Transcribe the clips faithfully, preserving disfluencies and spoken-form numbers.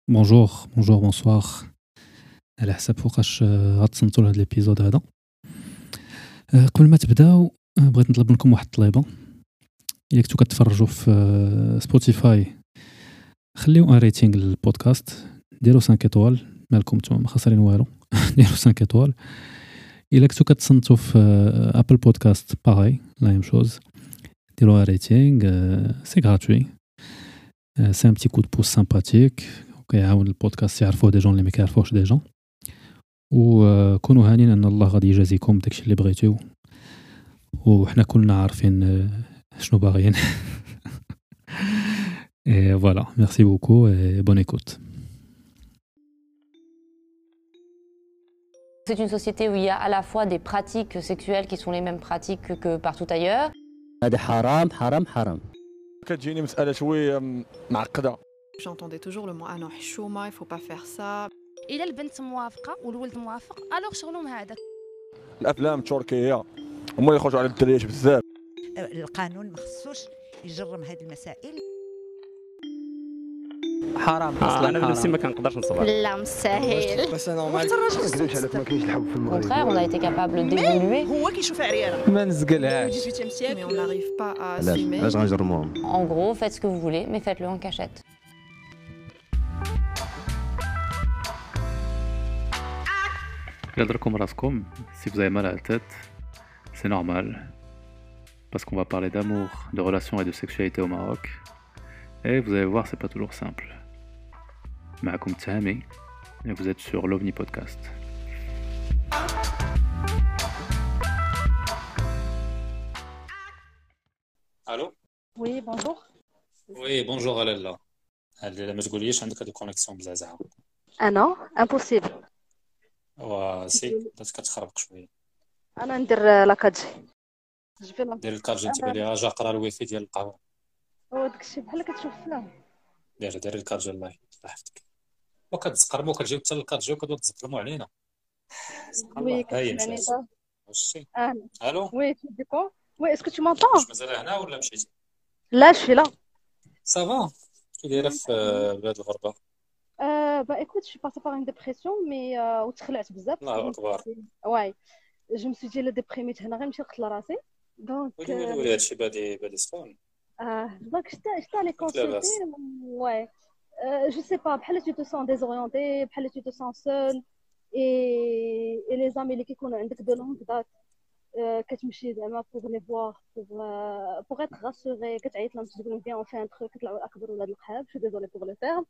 بونجور بونجور بونسوار على حسب فوقاش آه، غتصنتوا لهاد الابيزود هذا. آه، قبل ما تبداو آه، بغيت نطلب منكم واحد الطليبه. الا كنتو كتفرجوا في آه، سبوتيفاي خليو ان ريتينغ للبودكاست، ديروا خمسة ايطوال، مالكم نتوما ما خسرين والو. ديروا خمسة ايطوال. الا كنتو كتصنتوا في آه، ابل بودكاست باغي لا ميم شوز، ديروا ان ريتينغ، سي غراتوي، سي ان بتي كود بوس سامباتيك وكيعاون البودكاست يعرفوه دي جون اللي ما كيعرفوهش ديجا. وكونوا هانين ان الله غادي يجازيكم داكشي اللي بغيتو، وحنا كلنا عارفين آه، شنو باغيين. Et voilà, merci beaucoup et bonne écoute. C'est une société où il y a à la fois des pratiques sexuelles qui sont les mêmes pratiques que, que partout ailleurs. هذا حرام حرام حرام. كتجيني مسألة شوية م- معقدة. J'entendais toujours le mot ah non حشومة, il faut pas faire ça. إلا البنت موافقة والولد موافق الوغ شغلهم هذاك. الأفلام التركية هما اللي يخرجوا على الدريات بزاف. القانون ما خصوش يجرم هذه المسائل. حرام اصلا انا بنفسي ما كنقدرش نصبر. لا مستحيل. بس نورمال. Au contraire, on a été capable d'évoluer. هو كيشوف عريانة. ما نزقلهاش. dix-huitième siècle, mais on n'arrive pas à علاش assumer. علاش غنجرموهم؟ En gros, faites ce que vous voulez, mais faites-le en cachette. Gardez-vous raskom, si vous avez mal à la tête, c'est normal, parce qu'on va parler d'amour, de relations et de sexualité au Maroc. Et vous allez voir, c'est pas toujours simple. Maakoum Tahami, et vous êtes sur l'OVNI Podcast. الو Oui, bonjour. وي بونجور لالا. هل ما تقوليش عندك هاد الكونيكسيون مزعزعه؟ Ah non, impossible. وسي بدات كتخربق شويه. أنا ندير لاكادجي. جو في لا. دير الكارجي انت بالي راجع قرا الويفي ديال القهوه. هو داكشي بحال كتشوف فيلم. دير دير الكارجي الله الله يحفظك. وكتزقرمو كتجيو حتى الكارجي وكتبدا تزقرمو علينا. وي هاي كتسمعني مساس. دابا. واش Ah, الو oui, tu dis quoi? Oui, est-ce que tu m'entends? واش مازال هنا ولا مشيتي؟ Là, je suis là. صافا كي دايره في بلاد الغربه؟ Euh, bah écoute, je suis passée par une dépression, mais euh, وتخلعت بزاف. الله اكبر. Ouais. Je me suis dit, la déprimée, هنا غير نمشي نقتل راسي. Donc, ولي ولي ولي هادشي بادي بادي سخون. euh, donc j'étais j'étais allée لاباس. consulter. Ouais. Euh, je sais pas, بحال tu te sens désorienté, بحال tu te sens seul. Et, et les amis اللي كيكونوا عندك de longue date, euh, كتمشي زعما pour les voir, pour, euh, pour être rassurée, كتعيط لهم تقول لهم viens on fait un truc, كيطلعوا اكبر ولاد القحاب. Je suis désolée pour le terme.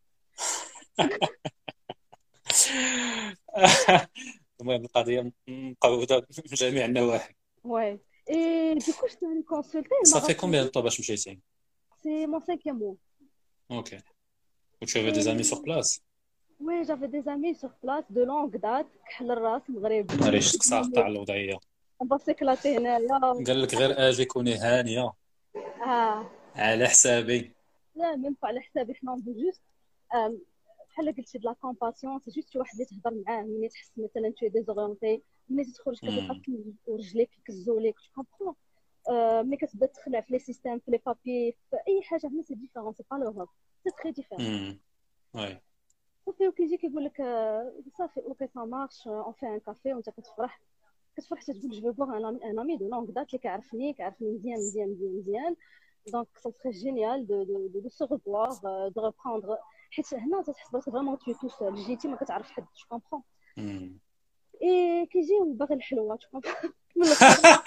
المهم القضيه مقوده من جميع النواحي. Ouais. Et du coup, je suis allée consulter. Elle m'a صافي raconté- كومبيان طو باش مشيتي؟ C'est mon cinquième mois. اوكي. و tu avais des amis sur place؟ Oui, j'avais des amis sur place de longue date. كحل الراس مغربي. معليش ساقطه على الوضعيه. On va s'éclater هنايا. قال لك غير اجي كوني هانيه Ah. على حسابي. لا même pas على حسابي، حنا نبغي جوست بحال قلتي د لا كومباسيون. سي جوست شي واحد اللي تهضر معاه ملي تحس مثلا tu es désorienté، ملي تخرج كتلقى رجليك كيكزوا ليك. tu comprends. Euh, ملي كتبدا تخلع في لي سيستيم، في لي بابي، في اي حاجه هنا سي ديفيرون، سي با لوروب، سي تري ديفيرون. امم وي صافي وكيجي كيقول لك آه، صافي اوكي سا مارش اون في ان كافي، وانت كتفرح كتفرح تقول جو فو ان امي ان امي دو لونغ دات اللي كيعرفني كيعرفني مزيان مزيان مزيان مزيان. دونك سا سري جينيال دو دو دو دو سو ريفوار، دو ريبروندر، حيت هنا تحس براسك فريمون تو تو سول، جيتي ما كتعرف حد. tu comprends. امم اي كيجي باغي الحلوه. tu comprends. من الاخر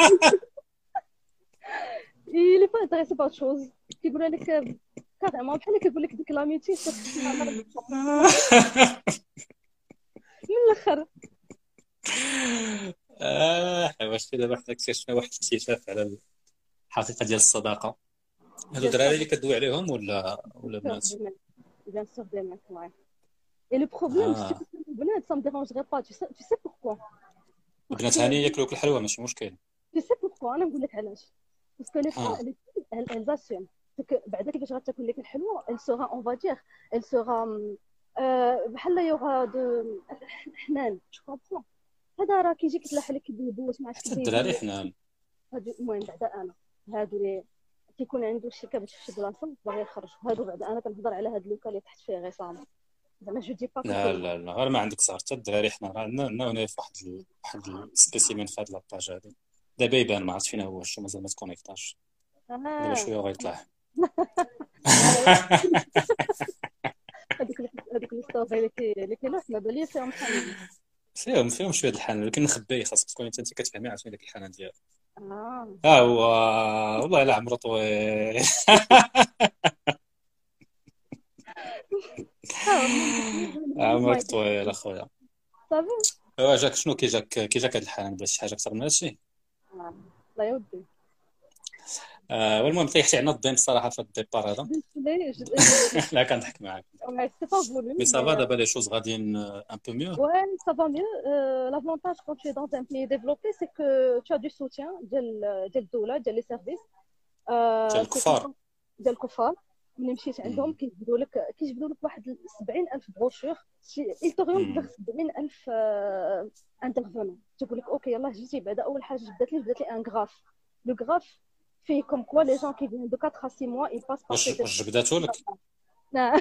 il est pas intéressé par autre chose. كيقول لك كاريمون بحال كيقول لك ديك لاميتي من الاخر. اه واش دابا حنا اكتشفنا واحد الاكتشاف على الحقيقه ديال الصداقه. هادو الدراري اللي كدوي عليهم ولا ولا بنات؟ Bien sûr, des mecs, ouais. Et le problème, Ah. c'est que les bananes, ça me dérangerait pas. Tu sais, tu sais pourquoi? البنات هاني ياكلوك الحلوى ماشي مشكل. Tu sais pourquoi? أنا نقول لك علاش. Parce que les femmes, Ah. les filles, elles, elles assument. C'est que بعدا كيفاش غتاكل لك الحلوى، elle sera, on va dire, elle sera euh, بحال لا يوغا دو حنان. tu comprends. هذا راه كيجي كيتلاح لك كيديبوس ما عرفتش حتى الدراري حنان. هادو المهم بعدا انا هادو اللي كيكون عنده شي كبت في شي بلاصه باغي يخرج. هادو بعدا انا كنهضر على هاد لوكا اللي تحت فيه غصام. زعما جو دي با لا لا لا غير ما عندك زهر حتى الدراري حنا راه عندنا عندنا هنا في واحد ال- واحد السبيسيمين في هاد لاباج هادي دابا يبان ما عرفت فين هو شو مازال ما تكونيكتاش دابا شويه وغيطلع هذوك هذوك لي ستوري اللي كي اللي كاينه ما بالي فيهم حنين. فيهم فيهم شويه د الحنان ولكن نخبيه خاصك تكون انت انت كتفهمي عرفتي داك الحنان ديالو اه ها هو والله الا عمرو طويل عمرك طويل اخويا صافي ايوا جاك شنو كي جاك كي جاك هاد الحنان بلا شي حاجه اكثر من هادشي لا يا ودي آه والمهم طيحتي عنا الدين الصراحه في الديبار هذا ليه لا كنضحك معاك سي با فولو مي سافا دابا لي شوز غاديين ان بو ميو Ouais, ça va mieux. Euh, l'avantage quand tu es dans un pays développé, c'est que tu as du soutien ديال ديال الدولة ديال les services. ديال الكفار ديال الكفار ملي مشيت عندهم كيجبدوا لك كيجبدوا لك واحد سبعين ألف بروشور il t'oriente vers سبعين ألف انترفونون تقول لك اوكي يلاه جيتي بعدا اول حاجه جبدت لي جبدت لي ان غراف لو غراف فيه كوم كوا لي جون كي فيان دو quatre à six mois ils passent par واش واش جبداتو لك نعم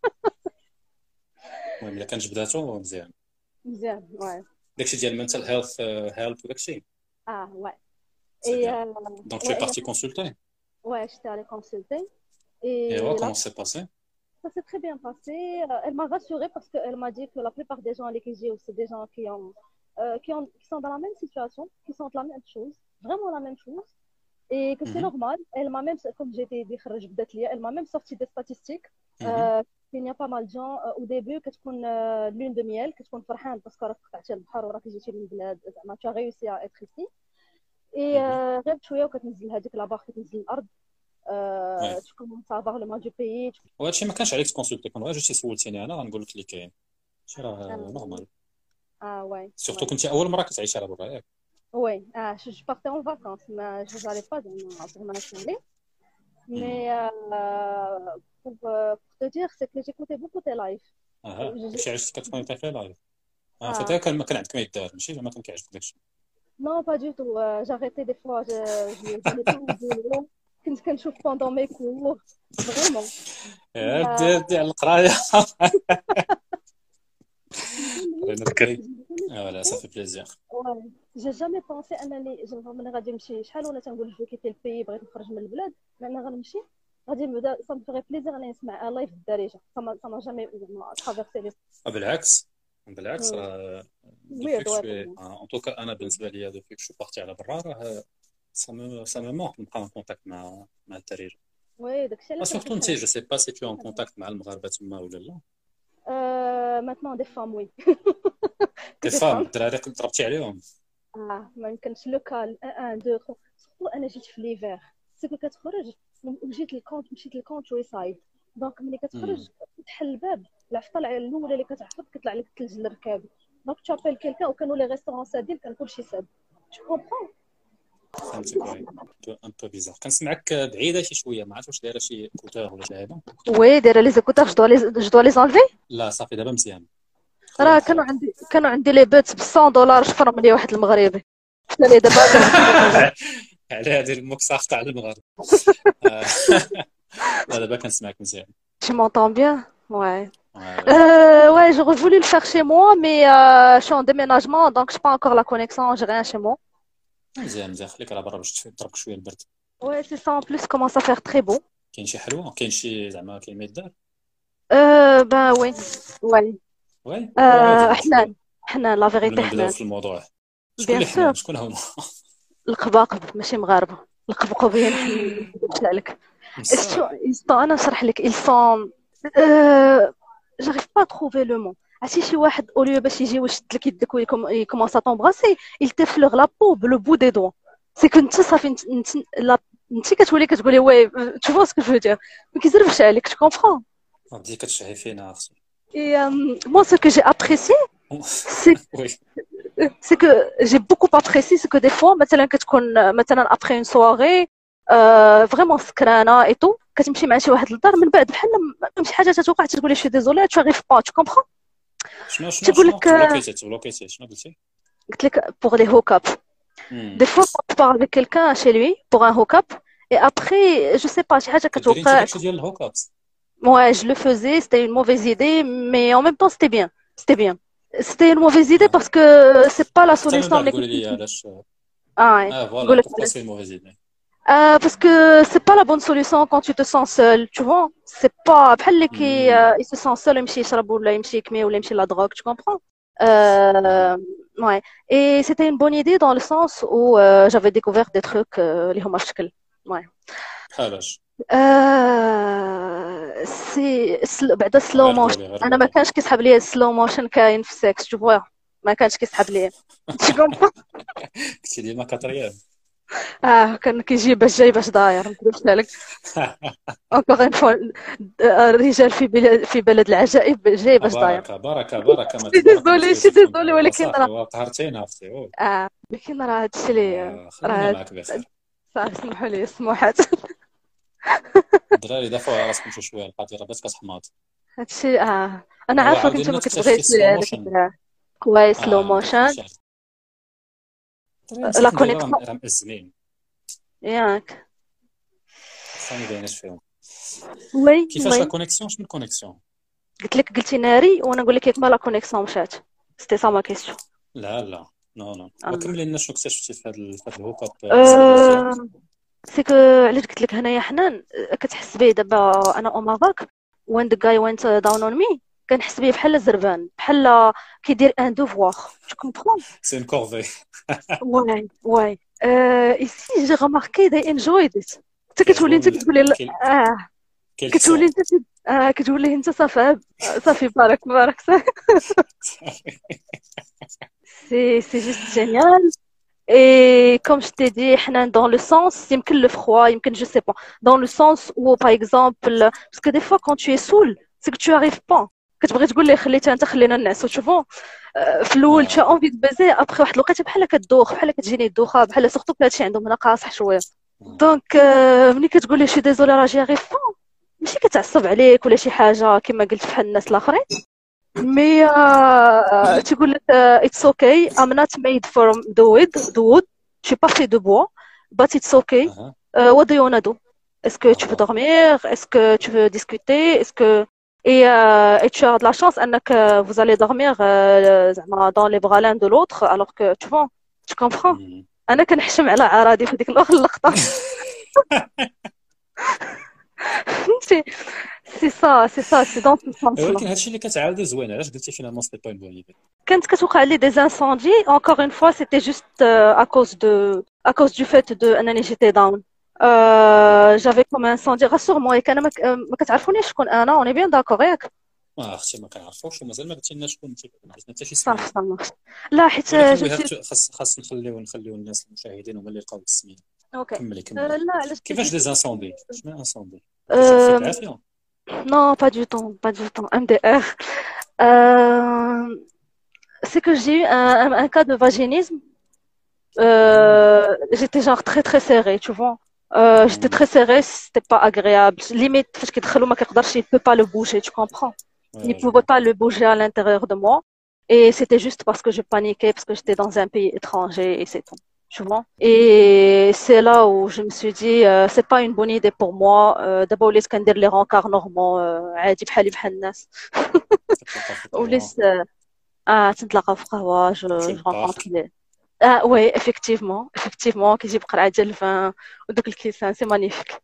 المهم الا كان جبداتو مزيان مزيان واي داكشي ديال mental health هيلب وداكشي اه واي اي et دونك tu es parti consulter ouais j'étais allée consulter et et ouais, là, comment c'est passé ça s'est très bien passé. Elle m'a rassurée parce qu'elle m'a dit que la plupart des gens avec qui j'ai c'est des gens qui ont euh, qui ont qui sont dans la même situation, qui sentent la même chose, vraiment la même chose et que c'est Mhm. normal. Elle m'a même comme j'étais dit خرج بدات ليا elle m'a même sorti des statistiques. Mhm. Euh, il y a pas mal de gens euh, au début كتكون euh, lune de miel كتكون فرحان باسكو راك قطعتي البحر وراك جيتي من بلاد زعما tu as réussi à être ici et euh, غير شويه وكتنزل هذيك لا باغ كتنزل الارض Ouais. tu commences à avoir le mal du pays. وهادشي ما كانش عليك تكونسلتي كون غير جيتي سولتيني انا غنقول لك اللي كاين شي راه نورمال Ah ouais. سورتو كنتي اول مره كتعيشي على برا ياك Oui, ah, je, je partais en vacances, mais je n'allais pas dans, pour m'installer. Mais euh, pour, euh, pour te dire, c'est que j'écoutais beaucoup tes lives. اها داكشي علاش كتكونيكتي فيه لايف اه Ah. فتاه كان كان عندك ما يدار ماشي زعما كان كيعجبك داكشي Non, pas du tout. Euh, j'arrêtais des fois, je n'allais pas au boulot. كنت كنشوف pendant mes cours. Vraiment. يا دي دي على القرايه قرينا بكري اه ولا صافي بليزير Ouais. J'ai jamais pensé انني زعما ملي غادي نمشي شحال ولا تنقول جو كيتي البي بغيت نخرج من البلاد لان غنمشي غادي نبدا صا مفيغي بليزير انني نسمع لايف الدارجه صا صا جامي زعما ترافيرسي لي بالعكس بالعكس مم. راه Weird, دوفيك ouais. شوي ان توكا انا بالنسبه لي دوفيك شو بارتي على برا راه سا مو سا مو مونك نبقى ان كونتاكت مع مع الدارجه وي داكشي علاش سورتو انت جو سي با سي تو ان كونتاكت مع المغاربه تما ولا لا Euh, maintenant des femmes oui. دي فام الدراري كنت ضربتي عليهم اه ما يمكنش لوكال واحد اثنين ثلاثة سورتو انا جيت في ليفير سيكو كتخرج وجيت للكونت مشيت للكونت ويسايد دونك ملي كتخرج تحل الباب العفطه الاولى اللي كتعفط كيطلع لك الثلج للركاب دونك تشابيل كيلكان وكانوا لي ريستورون سادين كان كلشي ساد جو كومبرون فهمتك وي ان بو بيزار كنسمعك بعيده شي شويه ما عرفتش واش دايره شي كوتور ولا شي حاجه وي دايره لي زيكوتور جو دو لي جو دو لي زانلفي لا صافي دابا مزيان راه كانوا عندي كانوا عندي لي بوتس ب مية دولار شفرهم لي واحد المغربي قلت لي دابا على هذه المكساخ تاع المغرب لا دابا كنسمعك مزيان Tu m'entends bien? Ouais. Euh, ouais, j'aurais voulu le faire chez moi, mais euh, je suis en déménagement, donc je n'ai pas encore la connexion, j'ai rien chez moi. مزيان مزيان خليك على برا باش تضربك شويه البرد Ouais, c'est ça, en plus, ça commence à faire très beau. كاين شي حلوه كاين شي زعما كاين ما يدار Euh, ben oui, ouais. وي Euh, حنان حنان لا فيغيتي نبداو حنان في الموضوع شكون bien اللي حنان sûr شكون هما القباقب ماشي مغاربة القبقبين حنان قلت لك شو يستو انا نشرح لك ils sont euh, j'arrive pas à trouver le mot عرفتي شي واحد اوليو باش يجي ويشد لك يدك ويكومونس ا طومبراسي il t'effleure la peau le bout des doigts سي كنت صافي انت انت كتولي كتقولي وي tu vois ce que je veux dire ما كيزربش عليك tu comprends بديتي كتشعي فينا اختي et euh, moi ce que j'ai apprécié c'est وي c'est que j'ai beaucoup apprécié c'est que des fois مثلا كتكون مثلا après une soirée euh, vraiment سكرانه et tout كتمشي مع شي واحد للدار من بعد بحال ما شي حاجه تتوقع تقولي شي ديزولي tu arrives pas tu comprends شنو شنو تقول شنو لك تبلوكيتي تبلوكيتي شنو قلتي قلت لك pour les hook up des fois quand tu parles avec quelqu'un chez lui pour un hook up et après je sais pas شي حاجه كديري انت كتوقع داكشي ديال الهوك ابس Ouais, je le faisais, c'était une mauvaise idée, mais en même temps, c'était bien. C'était bien. C'était une mauvaise idée parce que c'est pas la حتى من solution بعد اللي قولي كنت لي علاش. اه ouais. اه فوالا نقول لك بوركوا سي موفيز ايدي. Euh, parce que c'est pas la bonne solution quand tu te sens seul, tu vois. C'est pas بحال اللي كي euh, il se sent seul يمشي يشرب ولا يمشي يكمي ولا يمشي لا drogue, tu comprends? Euh, ouais. Et c'était une bonne idée dans le sens où euh, j'avais découvert des trucs euh, اللي هما في شكل. Ouais. بحالاش Euh, سي سل... بعدا سلو غير موشن قولي غير انا ما قولي. كانش كيسحب لي السلو موشن كاين في السكس tu vois. ما كانش كيسحب لي tu comprends. كنتي ديما كاتريام. اه كان كيجي باش جاي باش داير ما نكذبش عليك. encore une fois الرجال في بلاد في بلد العجائب جاي باش داير. بركه بركه بركه ما شي تبارك ما ديزولي شي تفوتي فيهم ديزولي والله ولكن صافي راه وقهرتينا اختي. أوه. اه ولكن راه هادشي اللي آه، خلينا راه معاك بخير. صافي سمحوا لي السموحات. الدراري دافعوا على راسكم شي شويه القضيه راه بس كتحماض. هادشي اه انا ايوا عارفه عاودي كنت لنا ما تكتشفي كتبغيش سلو هذاك موشن. الدرا كويس سلو اه ندخل موشن شي الدراري لا مساكن دابا كونيكسيون راه مأزمين ياك خصني ما بايناش فيهم. وي كيفاش لا وي كونيكسيون شنو الكونيكسيون؟ قلت لك قلتي ناري وانا نقول لك ياك ما لا كونيكسيون مشات سيتي سا ما كيسيون. لا لا نو نو آه. وكملي لنا شنو اكتشفتي في هذا في هذا الهوك اب أه... سي كو علاش قلت لك هنايا حنان أه، كتحس بيه دابا انا او مافاك وين ذا جاي وينت داون اون مي كنحس بيه بحال زربان بحال كيدير ان دوفوار جو كومبرون. سي ان كورفي. واي واي ايسي جي رماركي they enjoyed it. انت كتولي انت كيعجبهم كتقولي لا- كيل اه كيل كتولي سون. انت كت- اه كتولي انت صافي صافي بارك بارك صافي. سي سي جوست جينيال. Et comme je t'ai dit, حنان dans le sens, يمكن le froid, يمكن je sais pas, dans le sens où par exemple, parce que des fois quand tu es saoul, c'est que tu arrives pas. كتبغي تقول لي خليتها انت خلينا الناس tu vois. آه، في الاول tu as اه envie de baiser après واحد الوقيته بحال كتدوخ بحال كتجيني الدوخه بحال سورتو هادشي عندهم هنا قاصح شويه. دونك آه، ملي كتقول لي شي ديزولي راه جي اريف با ماشي كتعصب عليك ولا شي حاجه كما قلت بحال الناس الاخرين مي آه، تقول لك آه، it's okay I'm not made from the wood the wood je suis pas fait de bois but it's okay. اها Euh, what do you wanna do? Est-ce que tu veux اه dormir? Est-ce que tu veux discuter? Est-ce que et, euh, et tu as de la chance انك euh, vous allez dormir euh, زعما dans les bras l'un de l'autre alors que tu vois tu comprends. مم. انا كنحشم على عرادي في ديك اللقطه. فهمتي سي سا سي سا سي دون سو سونس لا. ولكن هادشي اللي كتعاودي زوين علاش قلتي فينالمون سيتي با اون بون ايدي. كانت كتوقع لي des incendies encore une fois c'était juste euh, à cause de à cause du fait de انني j'étais down. Euh, j'avais comme un incendie rassure-moi ياك انا ما ك- ما كتعرفونيش شكون انا on est bien d'accord ياك. اه اختي ما كنعرفوش ومازال ما قلتي لنا شكون انت ما قلتي حتى شي صافي سميه. صافي لا حيت ولكن جو وي هاف سي تو خاص خاص نخليو نخليو الناس المشاهدين هما اللي يلقاو السميه. اوكي. كملي Euh, كملي. لا علاش كيفاش دي زانسوندي شنو انسوندي كيجيو فيك euh, العافيه؟ non pas du tout pas du tout M D R. Euh, c'est que j'ai eu un, un, un cas de vaginisme. Euh, j'étais genre très très serrée tu vois. Euh, j'étais مم. très serrée c'était pas agréable limite فاش كيدخلوا ما كيقدرش il peut pas le bouger tu comprends. Il ne اه جو pouvait كومبر. pas le bouger à l'intérieur de moi. Et c'était juste parce que je paniquais, parce que j'étais dans un pays étranger et c'est tout. Tu vois? Et c'est là où je me suis dit, euh, c'est pas une bonne idée pour moi. Euh, D'abord, les scanner les rencarts normaux, euh, عادي بحالي بحال الناس. كتلقى في Ou القهوه les, euh, ah, تنتلاقى في قهوة, je, في je rencontre البارك. les. Ah, oui, effectivement, effectivement, كيجيب قرعة ديال الفان ودوك الكيسان, c'est magnifique.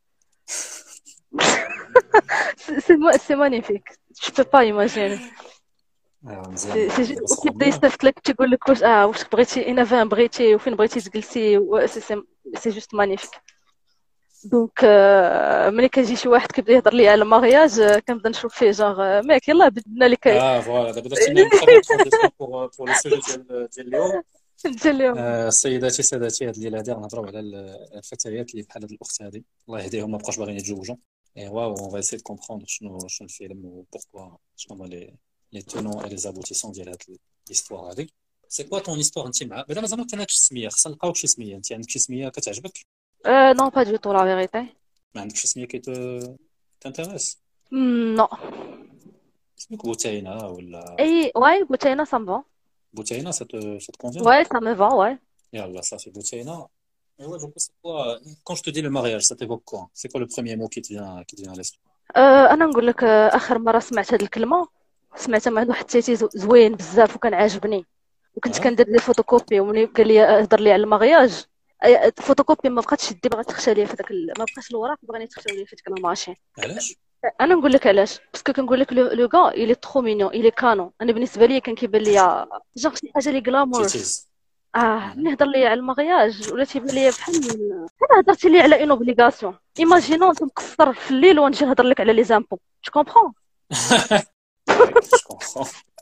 C'est c'est ma- c'est magnifique. Je peux pas imaginer. اه سي مزيان سي والله جو- دابا وكيبدا سخون ليا. يصيفط لك تيقول لك واش اه واش بغيتي اين فين بغيتي وفين بغيتي تجلسي و- سي سي سي جوست مانيفيك. دونك آه، ملي كيجي شي واحد كيبدا يهضر لي على المارياج آه، كنبدا نشوف فيه جونغ آه، ماك يلاه بدنا لك اه فوالا دابا درتي لنا تخي بيان ترانزيسيون بور بور لو سوجي ديال ديال اليوم. نجي اليوم. آه، سيداتي سادتي هاد الليله هادي غنهضروا على ال- الفتيات اللي بحال هاد الاخت هادي الله يهديهم ما بقاوش باغيين يتزوجوا. ايوا اون فا اسيي كومبروندر شنو شنو الفيلم وبوركوا شنو هما لي لي تونون اي لي زابوتيسون ديال هاد ليستوار هادي. سي كوا طون هيستوار انت مع بعدا مازال ما كانكش سميه خصنا نلقاوك شي سميه انت عندك شي سميه كتعجبك Euh, non, pas du tout, la vérité. ما عندكش شي سميه كيت تانتيريس Hmm, non. سميك بوتينه ولا Et ouais, Boutchaina, ça me va. بوتينه سا تو سا كونفيان Ouais, ça me va, ouais. يلا صافي بوتينه. ايوا جو سي كوا كون جو te dis le mariage ça t'évoque quoi c'est quoi le premier mot qui te vient qui te vient à l'esprit آه، انا نقول لك، آه، اخر مره سمعت هذه الكلمه سمعتها مع واحد التيتي زو- زوين بزاف وكان عاجبني، وكنت اه كندير لي فوتوكوبي وملي قال لي هضر لي على المغياج. أي- الفوتوكوبي ما بقاتش يدي، بغات تخشى ليا في داك ال... ما بقاش الوراق بغاني تخشاو ليا في ديك الماشين. علاش؟ انا نقول لك علاش، باسكو كنقول لك لو لو غا الي ترو مينيون الي كانون. انا بالنسبه لي كان كيبان لي جونغ شي حاجه لي غلامورس. تيتيز. اه مهم. ملي هضر لي على المغياج ولا تيبان لي بحال بحال هضرتي لي على اون اوبليغاسيون. ايماجينون انت مقصر في الليل ونجي نهضر لك على لي زامبو. جو كومبرون. وي جو كومبخون.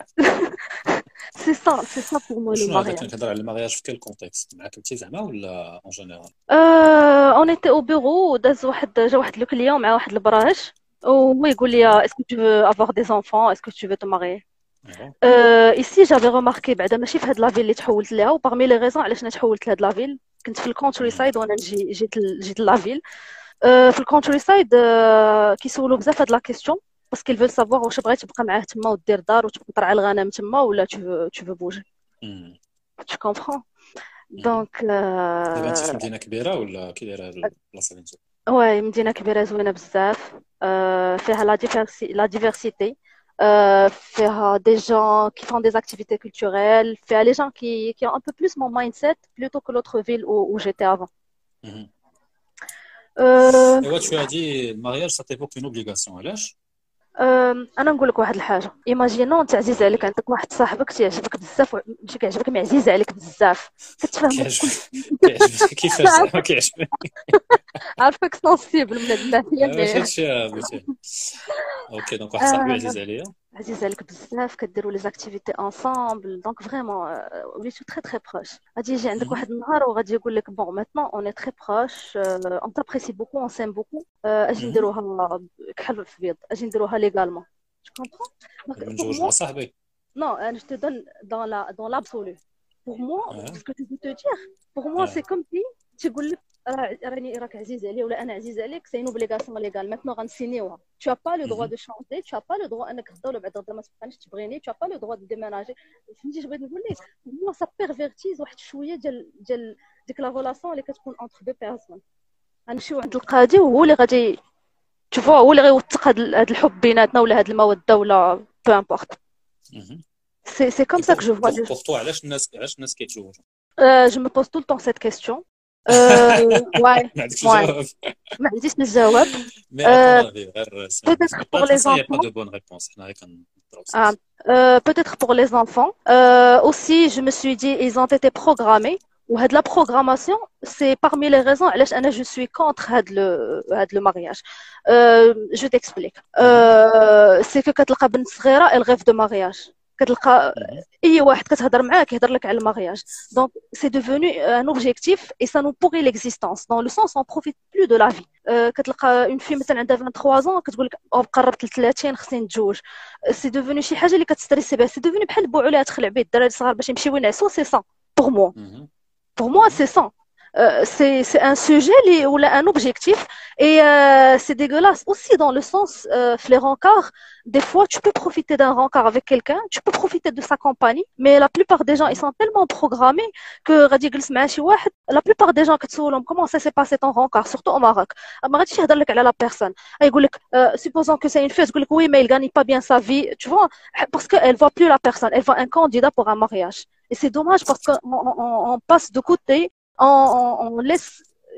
سي سا سي سا بور مو لو وشنو هذا مارياج. كان كيهضر على المارياج في كيل كونتكست؟ معاك انت زعما ولا اون جينيرال؟ اون ايتي او بيرو، داز واحد جا واحد لو كليون مع واحد البراج وهو يقول لي اسكو tu veux avoir des enfants, est-ce que tu veux te marier. ايوا. Euh, ici j'avais remarqué بعدا ماشي في هاد لافيل اللي تحولت ليها، وبارمي لي ريزون علاش انا تحولت لهاد لافيل كنت في الكونتري مم. سايد وانا نجي جيت ل- جيت لافيل. Euh, في الكونتري سايد euh, كيسولوا بزاف هاد لا كيسيون باسكو ils veulent savoir واش بغيتي تبقى معاه تما ودير دار وتبقى ترعى الغنم تما ولا tu veux tu veux bouger. مم. Tu comprends. مهم. Donc دابا انت في euh, مدينه كبيره ولا كي دايره البلاصه اللي انت؟ ouais مدينة كبيرة زوينة بزاف. euh, فيها la diversi- la diversité. Euh, فيها des gens qui font des activités culturelles, فيها les gens qui, qui ont un peu plus mon mindset plutôt que l'autre ville où, où j'étais avant. مهم. Euh, ايوا tu as dit المارياج ça t'évoque une obligation علاش؟ euh, انا نقول لك واحد الحاجه. ايماجينون انت عزيز عليك عندك واحد صاحبك تيعجبك بزاف و- ماشي كيعجبك مي عزيز عليك بزاف كتفهموا كل كيعجبك كيعجبك كيفاش زعما كيعجبك؟ عارفك سونسيبل من هاد الناحيه واش مي هادشي بغيتي؟ اوكي دونك واحد صاحبي عزيز عليا. عزيز عليك بزاف كديروا لي زاكتيفيتي انصامبل دونك فريمون وليتو تري تري بروش. غادي يجي عندك مهم. واحد النهار وغادي يقول لك بون ماتنون اون تري بروش اون تابريسي بوكو اون سيم بوكو اجي مهم. نديروها كحل في بيض اجي نديروها ليغالمون. Tu comprends? Donc, نبي pour نتزوج moi, مع صاحبي. non, euh, je te donne dans la, dans l'absolu. Pour moi, اه ce que tu veux te dire, pour moi, اه c'est comme si تقول لك راه- راني راك عزيز عليا ولا انا عزيز عليك، c'est une obligation légale. Maintenant غنسينيوها. Tu as pas le droit مهم. de changer, tu as pas le droit انك غدا ولا بعد غدا ما تبقاش تبغيني, tu as pas le droit de déménager. فهمتي اش بغيت نقول لك؟ pour moi ça pervertise واحد شويه ديال ديال ديك لا relation اللي كتكون entre deux personnes. غنمشيو عند القاضي وهو اللي غادي تشوفوا هو اللي غيوثق هاد ال- هاد الحب بيناتنا ولا هاد الموده ولا peu importe. مهم. C'est c'est comme Et ça pour que je vois pour les pour toi علاش الناس علاش الناس كيتزوجوا؟ Euh, je me pose tout le temps cette question. Euh, ouais, ما عندكش ouais. الجواب. ما عنديش الجواب. مي Euh, ا طون افي غير سي peut-être با pour les فاصون يا با enfants. دو بون ريبونس حنا غير كنضربوا Ah, سياسه. euh, peut-être pour les enfants. Euh, aussi, je me suis dit, ils ont été programmés. Ou de la programmation, c'est parmi les raisons علاش أنا je suis contre هاد le هاد le mariage. Euh, je t'explique. مهم. Euh, c'est que كتلقى بنت صغيرة elle rêve de mariage. كتلقى مهم. اي واحد كتهضر معاه كيهضر لك على المارياج. Donc c'est devenu un objectif et ça nous pourrit l'existence dans le sens on profite plus de la vie. Euh, كتلقى une fille مثلا عندها vingt-trois ans كتقول لك او قربت ل ثلاثين خصني نتزوج. سي devenu شي حاجه اللي كتستريسي بها. سي devenu بحال بوعوا لها تخلع بيه الدراري الصغار باش يمشيو ينعسوا. سي ça pour moi. مهم. Pour moi, مهم. c'est ça. Euh, c'est c'est un sujet li- ou là, un objectif et euh, c'est dégueulasse aussi dans le sens euh, les rencarts. Des fois, tu peux profiter d'un rencard avec quelqu'un, tu peux profiter de sa compagnie, mais la plupart des gens ils مهم. sont tellement programmés que غادي يجلس مع شي واحد. La plupart des gens كتسولهم comment ça s'est passé ton rencard, surtout au Maroc. ما غاديش يهضر لك على la personne. يقول لك euh, supposons que c'est une fille, تقول لك oui mais il gagne pas bien sa vie, tu vois, parce qu'elle voit plus la personne, elle voit un candidat pour un mariage. Et c'est dommage parce qu'on on, on- on passe de côté, on, on, on laisse,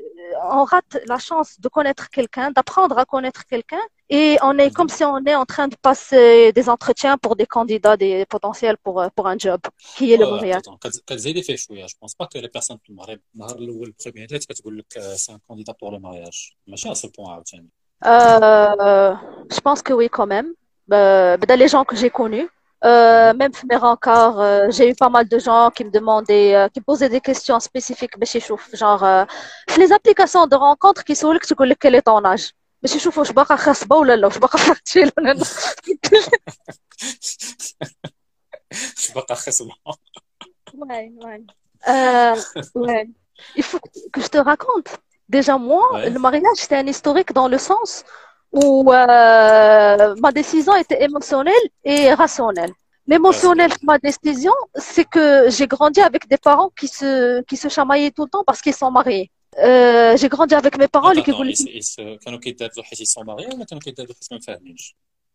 on rate la chance de connaître quelqu'un, d'apprendre à connaître quelqu'un, et on est comme مهم. si on est en train de passer des entretiens pour des candidats, des potentiels pour, euh, pour un job, qui est le اه mariage. اتون كتزيدي فيه شويه. جو بونس با كو لي بيرسون في المغرب النهار الاول بروميير ديت كتقول لك سي ان كانديدا بور لو مارياج ماشي على سو بوان عاوتاني. Euh, je pense que oui, quand même. Euh, ben, dans les gens que j'ai connus, euh, مهم. même في mes rencarts, euh, j'ai eu pas mal de gens qui me demandaient, euh, qui me posaient des questions spécifiques. باش يشوف, genre, euh, في les applications de rencontres qui يسولك تقول لك quel est ton âge. باش يشوفوا واش باقا خاصبة ولا لا, واش باقا فاكتشيل ولا لا. مش باقا خصبه. Ouais, ouais. Euh, ouais. Il faut que je te raconte. Déjà, moi, Ouais. le mariage, c'était un historique dans le sens où euh, ma décision était émotionnelle et rationnelle. L'émotionnel de ma décision, c'est que j'ai grandi avec des parents qui se, qui se chamaillaient tout le temps parce qu'ils sont mariés. Euh, j'ai grandi avec mes parents اللي Attends, attends, كيقول لك ils, ils se... كانوا كيتدابزوا حيت ils sont mariés ولا كانوا كيتدابزوا حيت ما مفاهمينش؟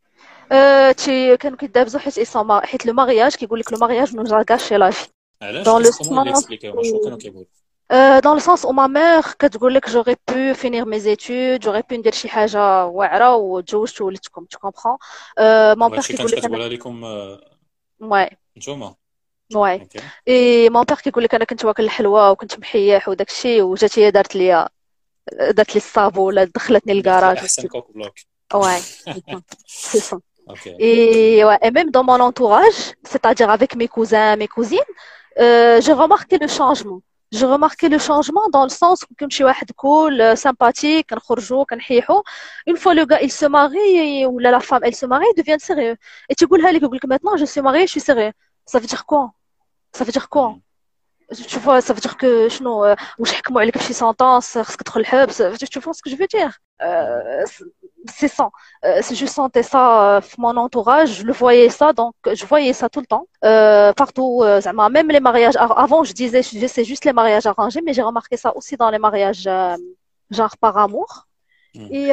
euh, تي كانوا كيدابزوا حيت ils sont mar- حيت لو مارياج كيقول لك لو مارياج نو gâcher la vie علاش؟ dans le كيس كومون اللي sens اكسبليكيو شنو كانوا كيقولوا؟ euh, dans le sens où ma mère كتقول لك j'aurais pu finir mes études j'aurais pu ندير شي حاجه واعره وتزوجت وولدتكم tu comprends euh, mon père وهادشي كيقول كانت لك انا كتقولها لكم آه، ouais نتوما؟ ouais اوكي. et mon père كيقول لك انا كنت واكل الحلوى وكنت محيح وداك الشيء وجات هي دارت لي دارت لي الصابو ولا دخلتني درت لي الكراج احسن كوك بلوك. ouais c'est ça c'est ça اوكي. et ouais, et même dans mon entourage c'est-à-dire avec mes cousins mes cousines euh, j'ai remarqué le changement j'ai remarqué le changement dans le sens où كنمشي واحد cool sympathique كنخرجوا كنحيحوا une fois le gars il se marie ou la femme elle se marie ils deviennent sérieux et تقولها لك يقول لك maintenant je suis mariée je suis sérieux ça veut dire quoi ça veut dire quoi مم. tu vois ça veut dire que شنو آه، واش حكموا عليك بشي سونطونس خصك تدخل الحبس tu vois ce que je veux dire مم. euh, c'est ça euh, si je sentais ça euh, mon entourage je le voyais ça donc je voyais ça tout le temps euh, partout euh, زعما même les mariages a- avant je disais je- c'est juste les mariages arrangés mais j'ai remarqué ça aussi dans les mariages euh, genre par amour مم. et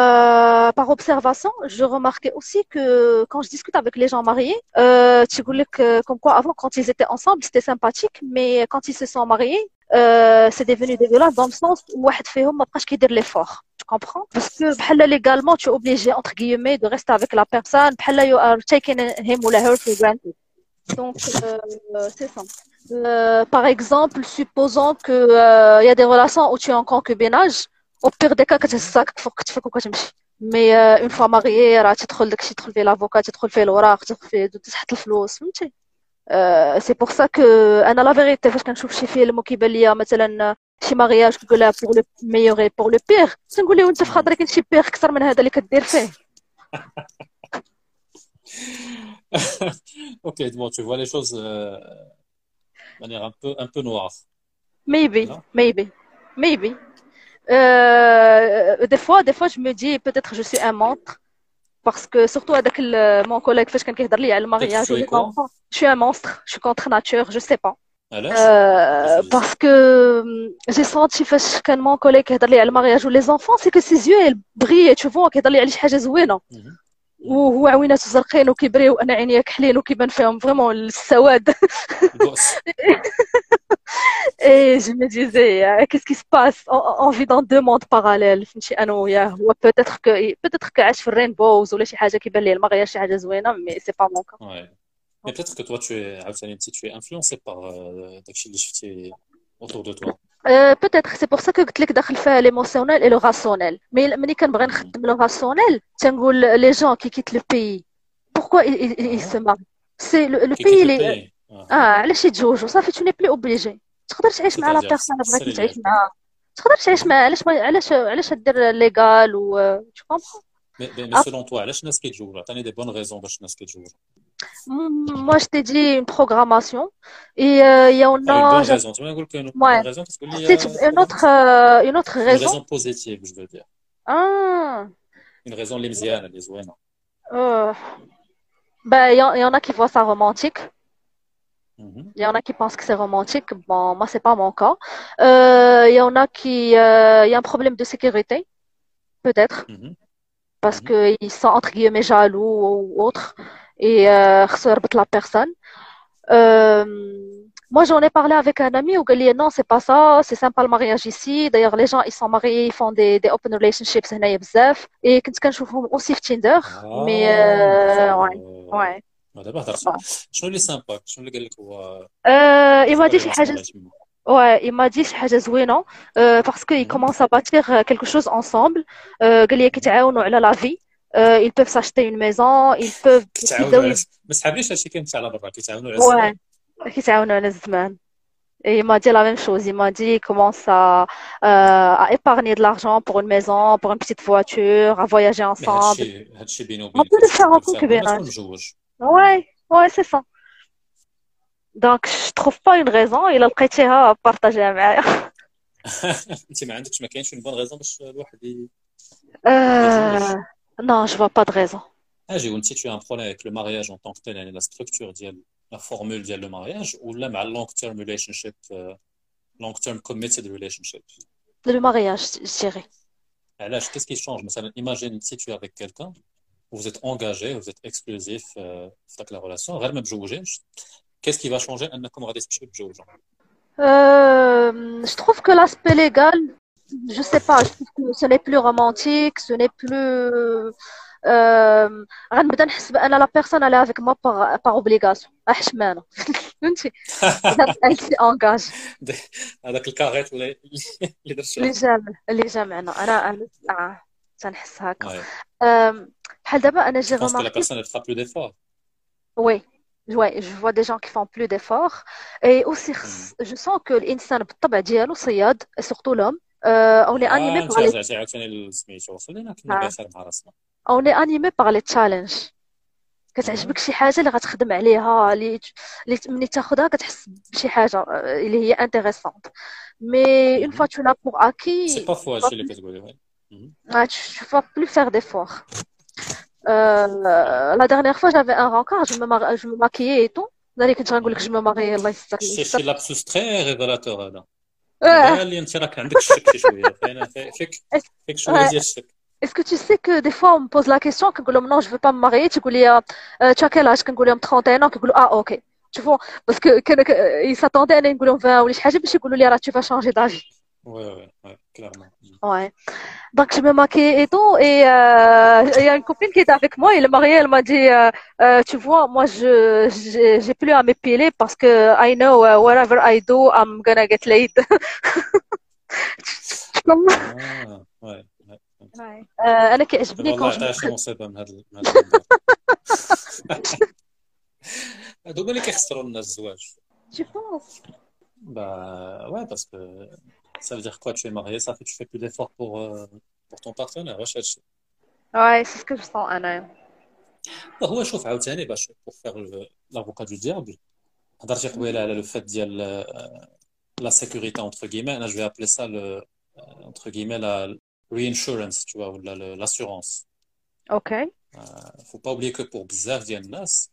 euh, par observation, je remarquais aussi que quand je discute avec les gens mariés, euh, tu voulais que, comme quoi avant, quand ils étaient ensemble, c'était sympathique, mais quand ils se sont mariés, euh, c'est devenu dégueulasse dans le sens où واحد فيهم ما بقاش كيدير l'effort. Tu comprends? Parce que بحال légalement, tu es obligé, entre guillemets, de rester avec la personne. بحال you are taking him or her for granted. Donc, euh, c'est ça. Euh, par exemple, supposons que euh, il y a des relations où tu es en concubinage, au pire des cas, كتهزك تفك كتفك وكتمشي. Mais euh, une fois marié, راه تدخل داكشي تدخل فيه l'avocat, تدخل فيه الوراق, تدخل فيه تحط الفلوس، فهمتي؟ Euh, c'est pour ça que انا لا فيغيتي فاش كنشوف شي فيلم وكيبان ليا مثلا شي مارياج كيقول لها pour le meilleur et pour le pire تنقول له انت في مم. خاطرك كاين شي بيغ اكثر من هذا اللي كدير فيه. Ok, bon, tu vois les choses euh, de manière un peu, un peu noire, Maybe, non? maybe, maybe. Euh, des fois, des fois, je me dis peut-être je suis un monstre parce que surtout avec le- mon collègue فاش كان كيهضر لي على Peut-être que المارياج tu ou es les quoi? enfants, je suis un monstre, je suis contre nature, je sais pas. علاش؟ Euh, علاش؟ parce que hum, j'ai senti فاش كان mon collègue كيهضر لي على المارياج ou les enfants, c'est que ses yeux ils brillent, tu vois, كيهضر لي على شي حاجة زوينة. مم. مم. وهو عويناته زرقين وكيبريو وانا عينيا كحلين وكيبان فيهم فريمون السواد. البؤس. Et je me disais, euh, qu'est-ce qui se passe? On, on vit dans deux mondes parallèles. فهمتي انا وياه هو peut-être que peut-être que عاش في الرينبوز ولا شي حاجه كيبان ليه المغير شي حاجه زوينه mais c'est pas mon cas. Ouais. Mais peut-être que toi, tu es, عاوتاني انت tu es influencé par euh, داكشي اللي شفتي autour de toi. Euh, peut-être c'est pour ça que قلت لك داخل فيها l'émotionnel et le rationnel. Mais ملي كنبغي مم. نخدم le rationnel تنقول les gens qui quittent le pays pourquoi ils, ils, ils se اه marient? C'est le, le كي pays كيت les البي. اه علاش يتزوجوا صافي tu n'es plus obligé. تقدر تعيش مع لا C'est-à-dire, بيرسون اللي c'est بغيتي les تعيش liens. معاها. تقدر تعيش Mhm. معاه علاش ما علاش علاش دير ليغال و tu comprends. Mais, mais, mais selon toi, علاش الناس كيتزوجوا؟ عطيني des bonnes raisons باش الناس كيتزوجوا. Mm, Moi, je t'ai dit une programmation. Et euh, il y en Ah, une a. bonne j'a- raison. Tu m'as dit qu'une Ouais. bonne raison, كتقول لي C'est euh, une autre, euh, une autre une raison. raison positive, je veux dire. Ah. Une raison اللي مزيانة اللي زوينة. Euh, ben, il y, en il y en a qui voient ça romantique. Mhm. Il y en a qui pensent que c'est romantique. Bon, moi, c'est pas mon cas. Euh, Il y en a qui. euh, Il y a un problème de sécurité, peut-être, Mhm. parce Mhm. qu'ils sont entre guillemets jaloux ou autre. Et euh, خصو يربط la personne. Euh, Moi, j'en ai parlé avec un ami où il dit non, c'est pas ça, c'est sympa le mariage ici. D'ailleurs, les gens, ils sont mariés, ils font des, des open relationships هنايا بزاف. Et كنت كنشوفهم aussi في Tinder. Mais euh, ouais, آه ouais. ما دابا هضرت. ouais. شنو اللي سامبا؟ شنو اللي قال لك هو Euh, il m'a dit شي expérience حاجة maritime؟ ouais, il m'a dit شي حاجة زوينة euh, parce qu'ils Mhm. commencent à bâtir quelque chose ensemble. Euh, قال لي Mhm. كيتعاونوا على la vie. Euh, ils peuvent s'acheter une maison, ils peuvent كيتعاونوا يبداو على يب- ما سحابليش هادشي كيمشي على برا كيتعاونوا على ouais, الزمان. كيتعاونوا على الزمان. Et il m'a dit la même chose. Il m'a dit il commence à, euh, à épargner de l'argent pour une maison, pour une petite voiture, à voyager مي ensemble. هادشي هادشي بيني On وبينك peut le هادشي faire en تقدر فيه غير ما تكون concubinage. مجوج. Ouais, ouais, c'est ça. Donc, je trouve pas une raison. Il a لقيتيها بارطاجيها معايا. انت ما عندكش ما كاينش une bonne raison باش الواحد ي- Euh, يتزوج. non, je vois pas de raison. اجي وانت tu as un problème avec le mariage en tant que tel يعني la structure ديال la formule ديال le mariage ولا مع long term relationship euh, long term committed relationship. le mariage, je dirais. علاش qu'est-ce qui change مثلا imagine si tu es avec quelqu'un vous êtes engagé vous êtes exclusif euh, في داك la relation غير ما تزوجيش qu'est-ce qui va changer انكم غادي تمشيو تتزوجوا Euh, je trouve que l'aspect légal, je sais pas, je trouve que ce n'est plus romantique, ce n'est plus. Euh, غنبدا نحس بان لا بيرسون elle est avec moi par par obligation حشمانه فهمتي elle s'y engage هذاك الكاريت ولا اللي درتو اللي جامع اللي جامعنا انا انا آه، تنحس هكا ouais آم، بحال دابا انا جي je pense que la remarqué personne elle fera plus d'efforts oui ouais je vois des gens qui font plus d'efforts et aussi خص- je sens que الانسان بالطبع ديالو صياد surtout l'homme euh, on est animé اه par انت les رجعتي عاوتاني سميتو خلينا كنا آه، بخير مع راسنا on est animé par les challenges كتعجبك شي حاجه اللي غتخدم عليها اللي اللي ملي تاخذها كتحس بشي حاجه آه، اللي هي انتريسونت مي اون فوا tu l'as pour acquis سي با tu فوا vas هادشي اللي plus كتقولي وي مهم. ah, tu vas plus faire d'efforts euh, la dernière fois j'avais un rencard je me mar- je me maquillais et tout داري كنت غنقول لك مهم. je me marie الله يستر الله شي يستر شي لابسوس تري ريفيلاتور هذا انا آه، بان لي انت راك عندك الشك شي شويه فاين فيك فيك شويه ouais. ديال الشك Est-ce que tu sais que des fois on me pose la question كنقول لهم non je veux pas me marier تقول لي euh, tu as quel âge كنقول لهم trente et un ans كيقولوا ah ok tu vois parce que كان ils s'attendaient انا نقول لهم vingt ولا شي حاجه باش يقولوا لي راه tu vas changer d'avis وي وي وي كلارمون ouais donc je me maquille et tout et euh, il y a une copine qui était avec moi elle est mariée elle m'a dit euh, euh, tu vois moi je j'ai j'ai plus à m'épiler parce que I know uh, whatever I do I'm gonna get laid اه وي وي. آه، انا كيعجبني والله كون عطاها شي مصيبه من هذا من هذا المنظور هادو هما اللي كيخسروا الناس الزواج tu penses bah ouais parce que ça veut dire quoi tu es marié ça fait que tu fais plus d'efforts pour euh, pour ton partenaire واش هادشي ouais c'est ce que je sens انا هو شوف عاوتاني باش pour faire le- l'avocat du diable هضرتي قبيله على لو فات ديال آه، la sécurité entre guillemets انا je vais appeler ça le euh, entre guillemets la reinsurance tu vois ou la- le- l'assurance اوكي faut pas oublier que pour بزاف ديال الناس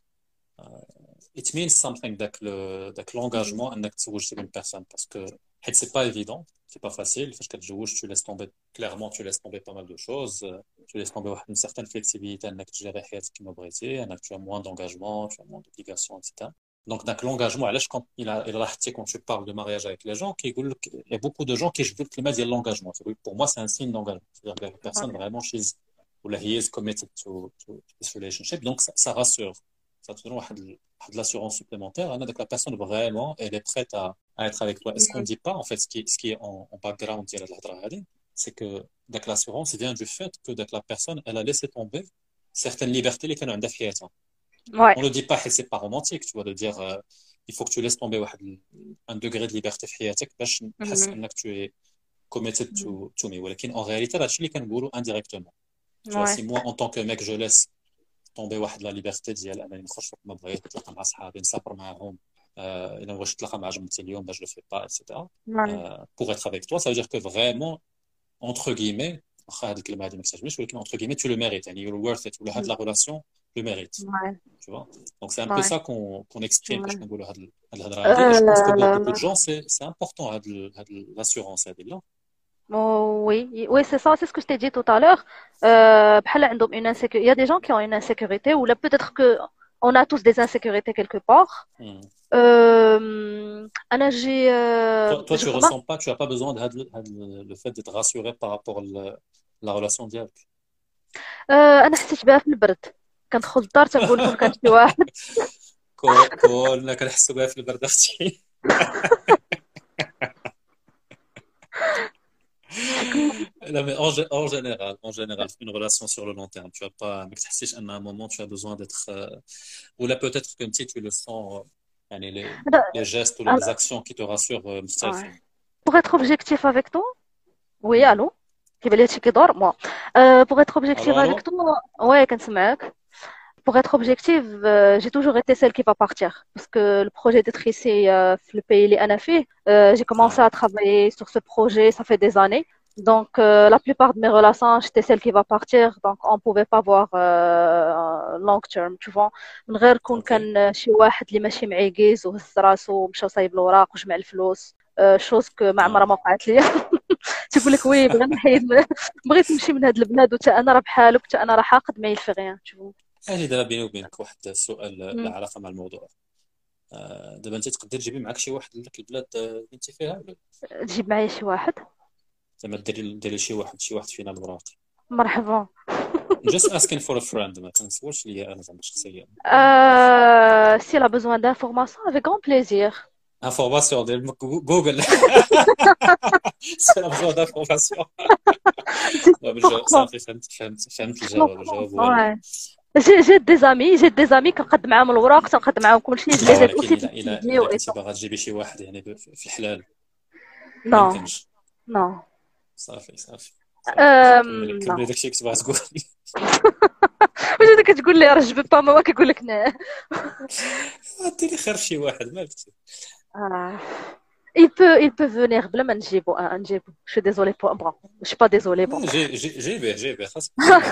it means something داك le داك l'engagement انك تزوج une personne parce que حيت c'est pas évident c'est pas facile فاش كتزوج tu laisses tomber clairement tu laisses tomber pas mal de choses euh, tu laisses tomber واحد une certaine flexibilité انك تجري حياتك كما بغيتي انك tu as moins d'engagement tu as moins d'obligations et cetera donc داك l'engagement علاش quand il a il a حتى quand tu parles de mariage avec les gens كيقول لك il y a beaucoup de gens qui يجبدوا الكلمه ديال l'engagement pour moi c'est un signe d'engagement c'est-à-dire que la personne vraiment she's ou he is committed to, to this relationship donc ça, ça rassure ça te donne واحد ال- واحد l'assurance supplémentaire hein, donc la personne vraiment elle est prête à, à être avec toi est-ce qu'on dit pas en fait ce qui, ce qui est en, en background ديال هاد الهضره هادي c'est que donc l'assurance vient du fait que donc la personne elle a laissé tomber certaines libertés اللي كانوا عندها في حياتها ouais on ne dit pas que c'est pas romantique tu vois de dire euh, il faut que tu laisses tomber واحد ال- un degré de liberté في حياتك باش تحس Mhm. انك tu es committed to to me ولكن en réalité هادشي اللي كنقولوا indirectement tu vois ouais si moi en tant que mec je laisse tomber واحد la liberté ديال انني نخرج وقت ما بغيت نتلاقى مع صحابي نسافر معاهم euh, الا بغيت نتلاقى مع جمتي اليوم باش je le fais pas et cetera ouais euh, pour être avec toi ça veut dire que vraiment entre guillemets واخا هاد الكلمه هادي ما كتعجبنيش ولكن entre guillemets tu le mérites يعني you're worth it ولا هاد la relation le mérite ouais tu vois donc c'est un peu ouais ça qu'on qu'on exprime ouais باش كنقولوا هاد ال- هاد الهضره هادي et je pense que pour beaucoup de Euh, gens c'est c'est important هاد ال- هاد ال- l'assurance هادي لا oh, oui, oui, c'est ça, c'est ce que je t'ai dit tout à l'heure. Euh, بحال عندهم une insécu- il y a des gens qui ont une insécurité, ou là peut-être que on a tous des insécurités quelque part. Hmm. Euh, أنا j'ai, euh, toi toi je tu remarque, ressens pas tu as pas besoin de هاد ال- هاد ال- le fait d'être rassuré par rapport à la relation ديالك euh, أنا حسيت بها في البرد. كندخل للدار تنقول كون كان شي واحد. كو- كلنا كنحسوا بها في البرد اختي لا mais en, gé- en général en général une relation sur le long terme tu as pas ما كتحسيش ان à un moment tu as besoin d'être euh, ou là peut-être que tu tu le sens euh, يعني les les gestes ou les actions qui te rassurent euh, مختلفين Pour être objectif avec toi, oui, Hmm. allô? كيبان لي هادشي كيدور moi. Euh, pour être objectif الو avec الو toi, ouais, كنسمعك. Pour être objective, euh, j'ai toujours été celle qui va partir. Parce que le projet d'être ici, euh, le pays, les Anafi, euh, j'ai commencé اه à travailler sur ce projet, ça fait des années. Donc, euh, la plupart de mes relations, j'étais celle qui va partir. Donc, on pouvait pas voir euh, long term, tu vois. من غير كون اوكي كان شي واحد اللي ماشي معيقز وهز راسو ومشى صايب الوراق وجمع الفلوس. Euh, chose que ما عمرها اه ما وقعت لي. تقول لك وي بغيت نحيد بغيت نمشي من هاد البلاد وتا انا راه بحالك وتا انا راه حاقد ما يلفي غيان تشوف. اجي دابا بيني وبينك واحد السؤال له علاقه مع الموضوع. آه، دابا انت تقدر تجيبي معاك شي واحد لذاك البلاد آه، اللي انت فيها ولا تجيب معايا شي واحد زعما ديري ديري شي واحد شي واحد فينا الوراق؟ مرحبا. just asking for a friend ما تنسولش ليا انا زعما شخصيا. Euh, si elle a besoin d'informations, avec grand plaisir. انفورماسيون ديال جوجل. سي لا بزاف دانفورماسيون. صافي فهمت فهمت فهمت الجواب الجواب هو جي جي دي زامي جي دي زامي كنقد معاهم الوراق تنقد معاهم كلشي لي زيد اوسي الا الا كنتي باغا تجيبي شي واحد يعني في الحلال. نو نو صافي صافي امم كملي داكشي كنت باغا تقول. واش انت كتقول لي راه جو با ما كيقول لك نا ديري خير شي واحد ما قلتي. اه il peut il peut venir بلا ما نجيبو اه نجيبو je suis désolée pour bon je suis pas désolée bon جي جي جيبيه جيبيه خاصك.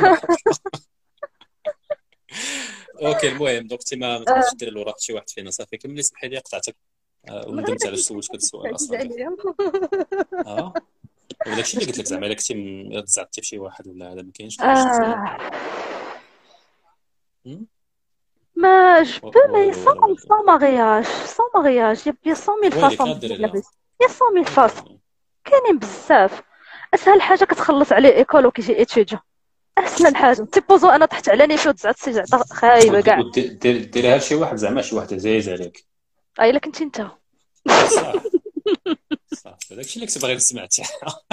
اوكي المهم دونك انت ما تقدرش دير الوراق شي واحد فينا صافي كملي. سمحي لي قطعتك وندمت على سولتك هذا السؤال اصلا. اه وداكشي اللي قلت لك زعما الا كنتي تزعتي بشي واحد ولا هذا ما كاينش. ما je peux mais sans sans mariage sans mariage il y a cent mille façons il y a cent mille façons كاينين بزاف. اسهل حاجه كتخلص عليه ايكول وكيجي ايتيديو اسهل حاجه تيبوزو انا طحت على نيشو تزعت سي زعما خايبه كاع دير ديريها لشي واحد زعما شي واحد عزيز عليك. اي الا كنتي انت صافي صافي داكشي اللي كنت باغي نسمع حتى.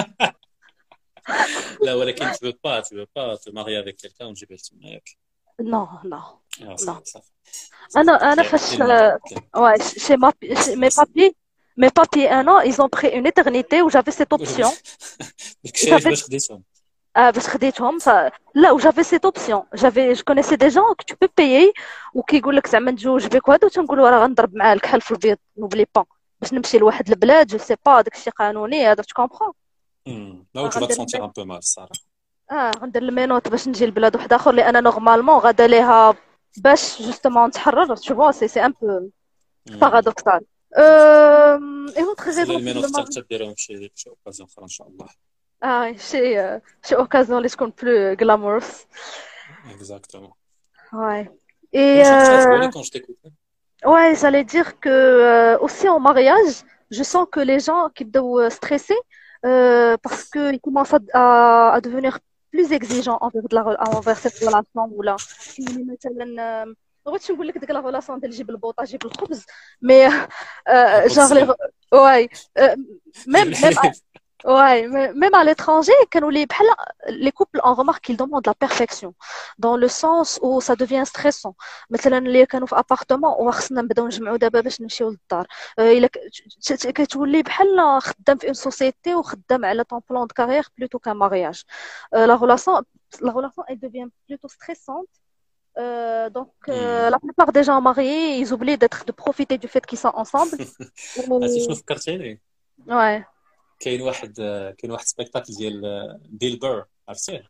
لا ولكن tu veux pas tu veux pas te marier avec quelqu'un ونجيبها لتما ياك. نو نو نو انا انا فاش واي شي ما مي بابي mes papiers un an ils ont pris une éternité où j'avais cette option. داكشي باش خديتهم اه باش خديتهم ف... لا و j'avais cette option j'avais je connaissais des gens que tu peux payer وكيقول لك زعما نتزوج بك وهذا وتنقولوا راه غنضرب معاه الكحل في البيض نوبلي با باش نمشي لواحد البلاد جو سي با داكشي قانوني هذا tu comprends. امم لا tu vas te sentir un peu mal الصراحه. اه غندير المينوط باش نجي لبلاد واحد اخر اللي انا نورمالمون غادا ليها باش جوستومون نتحرر tu vois c'est c'est un peu paradoxal. euh et autre raison المينوط حتى ديرهم شي شي اوكازيون اخرى ان شاء الله. اه شي شي اوكازيون اللي تكون بلو غلامورس. Exactement. Ouais. Et euh... quand je t'écoute. Ouais, j'allais dire que euh, aussi en mariage, je sens que les gens qui doivent stresser euh, parce que ils commencent à, à, à devenir plus exigeants envers de la envers cette relation ou là. مثلا بغيتش نقول لك ديك لا ريلاسيون ديال جيب البوطه جيب الخبز مي جار واي ميم ميم Ouais, même à l'étranger, quand les, les couples, on remarque qu'ils demandent la perfection, dans le sens où ça devient stressant. مثلا اللي كانوا في appartement وخصنا نبداو نجمعوا دابا باش نمشيو للدار. الا كتولي بحال خدام في une société وخدام على ton plan de carrière plutôt qu'un mariage. La relation, la relation elle devient plutôt stressante. Euh, donc euh, la plupart des gens mariés, ils oublient d'être de profiter du fait qu'ils sont ensemble. عرفتي شنو فكرتيني؟ Ouais. كاين واحد كاين واحد سبيكتاكل ديال بيل بير عرفتيه؟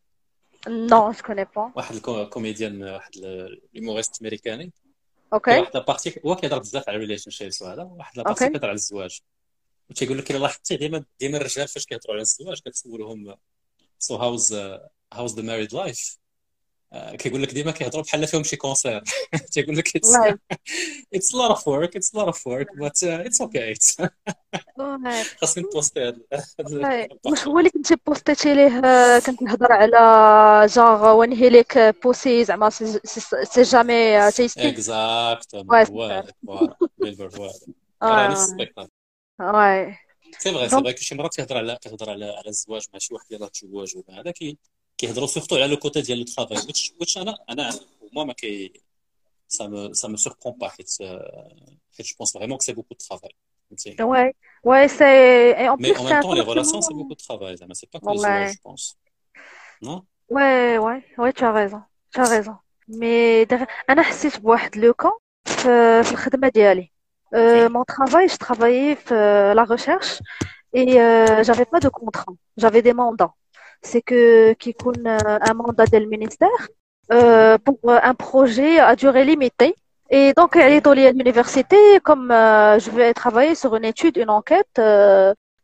نو جو كوني با. واحد الكوميديان واحد الهيوموريست امريكاني. اوكي. واحد لابارتي هو كيهضر بزاف على الريليشن شيبس وهذا واحد لابارتي كيهضر على الزواج وتيقول لك الا لاحظتي ديما ديما الرجال فاش كيهضروا على الزواج كتسولهم سو هاوز هاوز ذا ماريد لايف كيقول لك ديما كيهضروا بحال فيهم شي كونسير. تيقول لك اتس اتس لوت اوف ورك اتس لوت اوف ورك بات اتس اوكي. خاصني نبوستي هذا واش هو اللي كنتي بوستيتي ليه كنت نهضر على جونغ وين هي ليك بوسي زعما سي جامي تيستي اكزاكتومون فوالا بيلبر فوالا راه نفس السبيكتاكل. واي سي فري سي فري كل شي مره كيهضر على كيهضر على على الزواج مع شي واحد يلاه تزوج ولا هذا كي كيهضروا سورتو على لو كوتي ديال لو طرافاي واش انا انا moi ما كي ça me ça me surprend pas حيت حيت je pense vraiment que c'est beaucoup de travail. Ouais, ouais, c'est et en mais plus en même temps les relations c'est beaucoup de travail, ça c'est pas que le ouais. je pense. Non? Ouais, ouais, ouais, tu as raison. Tu as raison. Mais انا حسيت بواحد لو كان في في الخدمه ديالي. Euh, mon travail, je travaillais في la recherche et euh, j'avais pas de contrat. J'avais des mandats. C'est que qui يكون un mandat du ministère euh, pour un projet à durée limitée. Et donc, à l'université, comme euh, je vais travailler sur une étude, une enquête euh,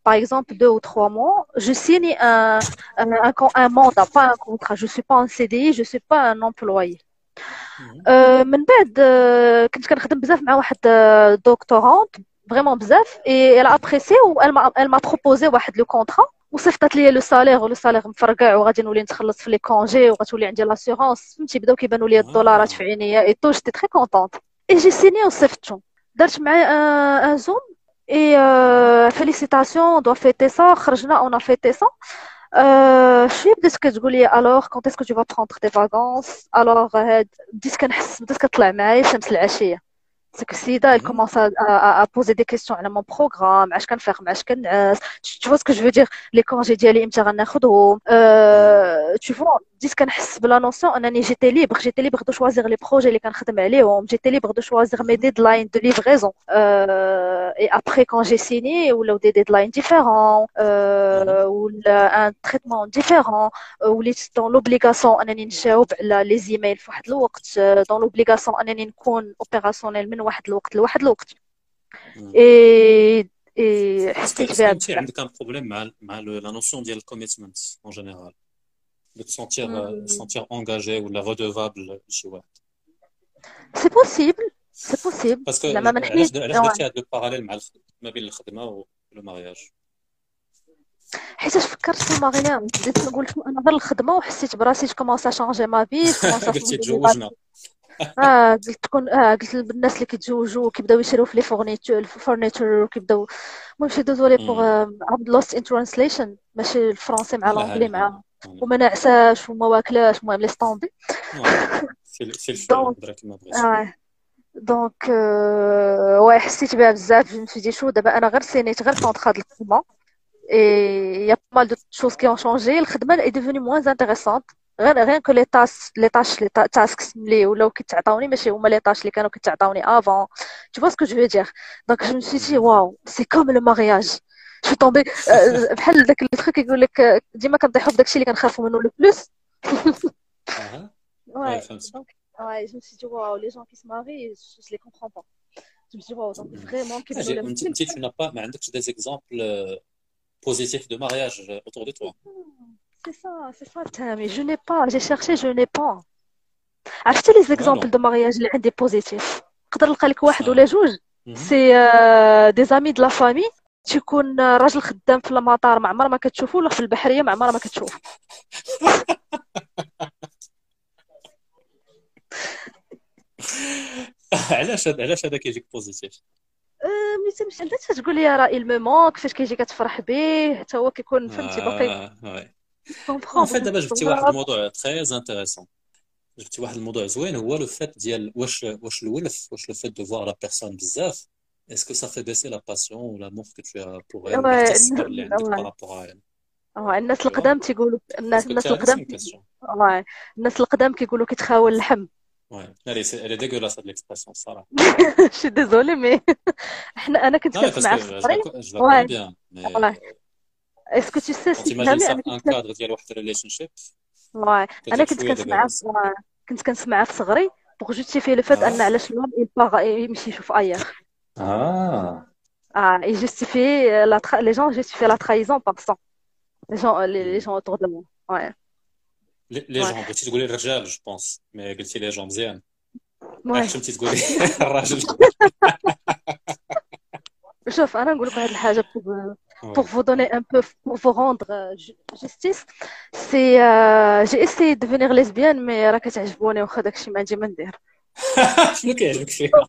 par exemple deux ou trois mois, je signe un, un, un, un mandat, pas un contrat. Je ne suis pas en C D I, je ne suis pas un employé. Euh, من بعد euh, كنت كنخدم بزاف مع واحد دكتورانت فريمون بزاف et elle a apprécié و elle m'a elle m'a proposé واحد لو كونطرا وصيفطت لي لو سالير ولو سالير مفرقع وغادي نولي نتخلص في لي كونجي وغتولي عندي لاسيغونس فهمتي بداو كيبانوا لي الدولارات في عينيا اي تو جيتي تري كونطونت اي جي سيني وصيفطتو درت معاه ان زوم اي فيليسيتاسيون دو فيتي سا خرجنا اون فيتي سا Euh, شويه بدات كتقول لي alors quand est-ce que tu vas prendre tes vacances alors هاد بديت كنحس بدات كطلع معايا شمس العشيه ديك السيده elle commence à, à, à poser des questions على mon programme اش كنفيق مع اش كنعس tu vois ce que je veux dire les congés ديالي امتى غناخذهم euh, tu vois بديت كنحس بلا نوسيون انني جيتي ليبر جيتي ليبر دو شوازيغ لي بروجي اللي كنخدم عليهم جيتي ليبر دو شوازيغ مي ديدلاين دو ليفريزون et après quand j'ai signé ولاو دي ديدلاين ديفيرون ولا ان تريتمون ديفيرون وليت دون لوبليغاسيون انني نجاوب على لي زيميل في واحد الوقت دون لوبليغاسيون انني نكون اوبيراسيونيل من واحد الوقت لواحد الوقت اي اي حسيت بها انت عندك ان بروبليم مع مع لا نوسيون ديال الكوميتمنت اون جينيرال de te sentir mm. sentir engagé ou la redevable chez واحد. C'est possible, c'est possible. Parce que علاش علاش درتي هذا الباراليل مع ما بين الخدمه و المارياج؟ حيت فكرت في المارياج بديت نقول انا غير الخدمه وحسيت براسي كومونس شانجي ما في كومونس قلتي تزوجنا اه قلت تكون اه قلت للناس اللي كيتزوجوا وكيبداو يشريو في لي فورنيتور الفورنيتور وكيبداو المهم شي دوزولي بوغ عبد لوست ان ترانسليشن ماشي الفرنسي مع الانجلي مع وما نعساش وما واكلاش المهم لي ستوندي في في الفيلم درك ما بغيتش اه دونك واي حسيت بها بزاف جو مشيتي شو دابا انا غير سينيت غير كونطرا د الخدمه اي يا مال دو شوز كي اون شونجي الخدمه اي ديفوني موان انتريسونت غير غير كو لي تاس لي تاش لي تاسكس اللي ولاو كيتعطاوني ماشي هما لي تاش اللي كانوا كيتعطاوني افون tu vois ce que je veux dire donc je me suis dit واو سي كوم لو مارياج شو طومبي بحال داك اللي تخيك يقول لك ديما كنطيحوا في داكشي اللي كنخافوا منه لو بلوس اها ouais donc ouais je me suis dit waouh les gens qui se marient je les comprends pas je me suis dit waouh donc vraiment كيبانوا انت انت tu n'as pas ما عندكش des exemples positifs de mariage autour de toi c'est ça c'est ça mais je n'ai pas j'ai cherché je n'ai pas عرفتي لي زيكزامبل دو مارياج اللي عندي بوزيتيف نقدر نلقى لك واحد ولا جوج سي دي زامي د لا فامي تيكون راجل خدام في المطار ما عمر ما كتشوفو ولا في البحريه ما عمر ما كتشوف علاش علاش هذا كيجيك بوزيتيف ملي تمشي عندها تقول لي راه il me manque كيفاش كيجي كتفرح به حتى هو كيكون فهمتي باقي كومبرون فيت دابا جبتي واحد الموضوع تري انتريسون جبتي واحد الموضوع زوين هو لو فات ديال واش واش الولف واش لو فات دو فوار لا بيرسون بزاف est-ce que ça fait baisser la passion ou l'amour que tu as pour elle اللي عندك par rapport à elle اه الناس القدام تيقولوا الناس الناس القدام واه الناس القدام كيقولوا كيتخاول اللحم Ouais, elle est, elle est dégueulasse de l'expression, Sarah. Je suis désolée, mais أنا كنت كنسمع في الصغري. Je la connais bien, mais. Ouais. Est-ce que tu sais si t'imagines ça un cadre ديال واحد relationship. Ouais. أنا كنت كنسمع كنت كنسمع في الصغري pour justifier le fait أن علاش الوالد il part يمشي يشوف ailleurs. Ah. Ah, et justifier la les gens justifient la trahison par ça. Les gens les gens autour de moi. Ouais. لي جون بغيتي تقولي الرجال جو بونس مي قلتي لي جون مزيان واش فهمتي تقولي الراجل شوف انا نقول لك واحد الحاجه pour vous donner un peu pour vous rendre justice c'est j'ai essayé de devenir lesbienne mais راه كتعجبوني واخا داكشي ما عندي ما ندير شنو كيعجبك فيها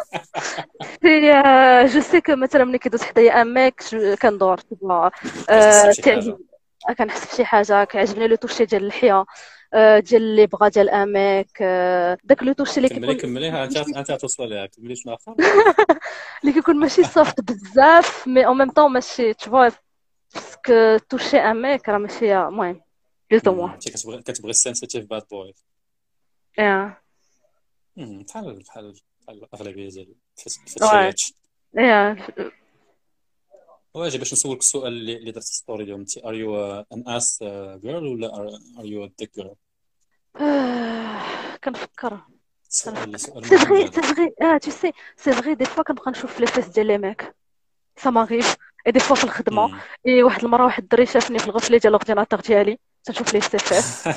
c'est je sais que مثلا ملي كيدوز حدايا ان ميك كندور تعجبني كنحس بشي حاجه كيعجبني لو توشي ديال اللحيه ديال اللي بغا ديال اماك داك لو توشي اللي كيكون كمليها انت انت توصل ليها كملي شنو اخر اللي كيكون ماشي صافط بزاف مي اون ميم طون ماشي تشوف باسكو توشي اماك راه ماشي المهم بلوز موا انت كتبغي كتبغي السنسيتيف باد بوي اه بحال بحال بحال الاغلبيه ديال الفتيات اه واجي باش نسولك السؤال اللي اللي درت ستوري اليوم انت ار يو ان اس جيرل ولا ار يو ديك جيرل كنفكر سؤال سي فري سي فري اه tu sais سي فري دي فوا كنبقى نشوف لي فيس ديال لي ميك ça m'arrive et des fois في الخدمه مم. اي واحد المره واحد الدري شافني في الغفله ديال الاورديناتور ديالي تنشوف ليه السيفات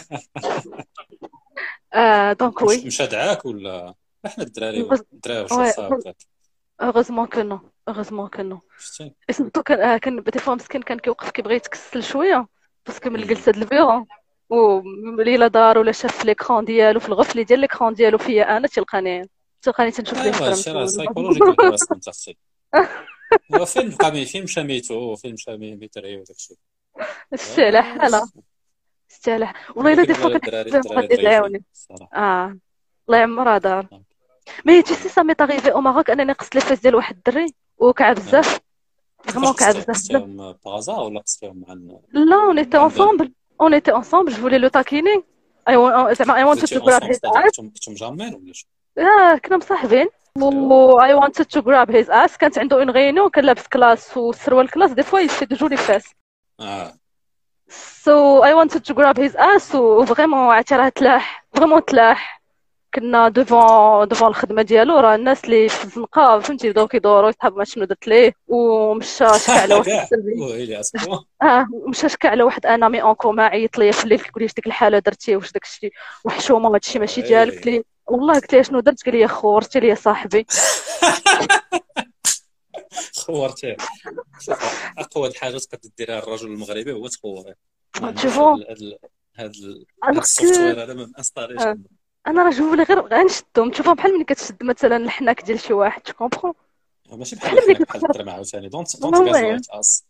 آه دونك مش وي مشى دعاك ولا احنا الدراري غز- الدراري وي وشرطة هكاك heureusement que non heureusement que non شفتي et surtout كان آه، كان دي فوا مسكين كان كيوقف كيبغي يتكسل شويه باسكو من مم. الجلسه ديال البيرو ولا دار ولا شاف في ليكران ديالو في الغفله ديال ليكران ديالو فيا انا تلقاني تلقاني تنشوف ليه ايوا في هادشي راه الكرم سايكولوجيكال هراسمنت اختي هو فيلم قامي فيلم شاميتو فيلم شامي ميتري وداكشي شتي على حالة شتي على حالة والله الا دي فوا ولكن كنحس الدراري بهم الدراري غادي ضعيفين يدعوني الصراحه اه الله يعمرها دار مي tu sais ça m'est arrivé au Maroc انني قصت لي فاس ديال واحد الدري وكعب بزاف فريمون كيفاش كعب قصتي بزاف بزاف قصتيهم بازا ولا قصتيهم مع ال- لا on était مع البان ensemble on était ensemble je voulais le taquiner I wa- زعما I wanted كنتي to grab اونصومبل his ستادير ass كنتم كنتم مجامعين ولا شنو؟ اه كنا مصاحبين ايوا و I wanted to grab his ass كانت عنده اون غينيون كان لابس كلاس والسروال كلاس دي فوا يفي دو جولي فاس اه so I wanted to grab his ass و فريمون عرفتي راه تلاح فريمون تلاح كنا دوفون دوفون الخدمه ديالو راه الناس اللي في الزنقه فهمتي بداو كيدوروا يتحاب ما شنو درت ليه ومشى شكى على واحد كاع السلبي ويلي اسبوع اه مشى شكى على واحد انامي اون كوما عيط ليا في الليل كيقول لي اش ديك الحاله درتي واش داك الشيء وحشومه هادشي ماشي ديالك قلت ويلي لي والله قلت لي شنو درت قال لي خورتي لي صاحبي خورتيه شوف اقوى حاجه تقدر ديرها الرجل المغربي هو تخوريه ما عندوش هاد تشوفون ال- هاد ال- هاد ال- هاد الوغ السوفتوير هذا ما انستاليش كو انا راه جوولي غير غنشدهم تشوفهم بحال ملي كتشد مثلا الحناك ديال شي واحد tu comprends ماشي بحال بحال ملي الحناك بحال كتقرب الدرهم عاوتاني دونت ما دونت هو غازلايت اس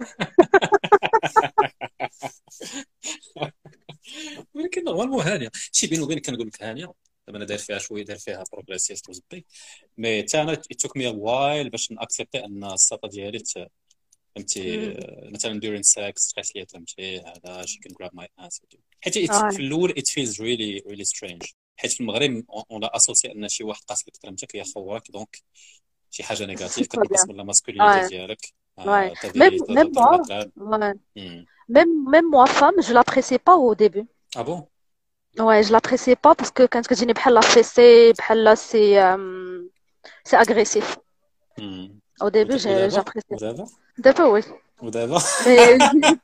ولكن نورمالمون هانيه شي بيني وبينك كنقول لك هانيه دابا انا داير فيها شويه داير فيها بروغريسيف وزبي مي حتى انا توك مي وايل باش ناكسبتي ان الساطه ديالي ت- فهمتي مم. آه، مثلا during sex تقيس ليا فهمتي هذا she can grab my ass حيت it- اه في الاول it feels really really strange حيت في المغرب اون لا اسوسي ان شي واحد قاس لك كرامتك هي خوراك دونك شي حاجه نيجاتيف سي ترو كتنقص بيان من الماسكولينيتي ouais ديالك ouais تبي même même moi تضرب ouais même même moi femme je l'appréciais pas au début اه بون ouais je l'appréciais pas parce que كانت كتجيني بحال لا فيسي بحال سي أم، سي agressif au début j'ai ودابا j'appréciais ودابا دابا oui ودابا mais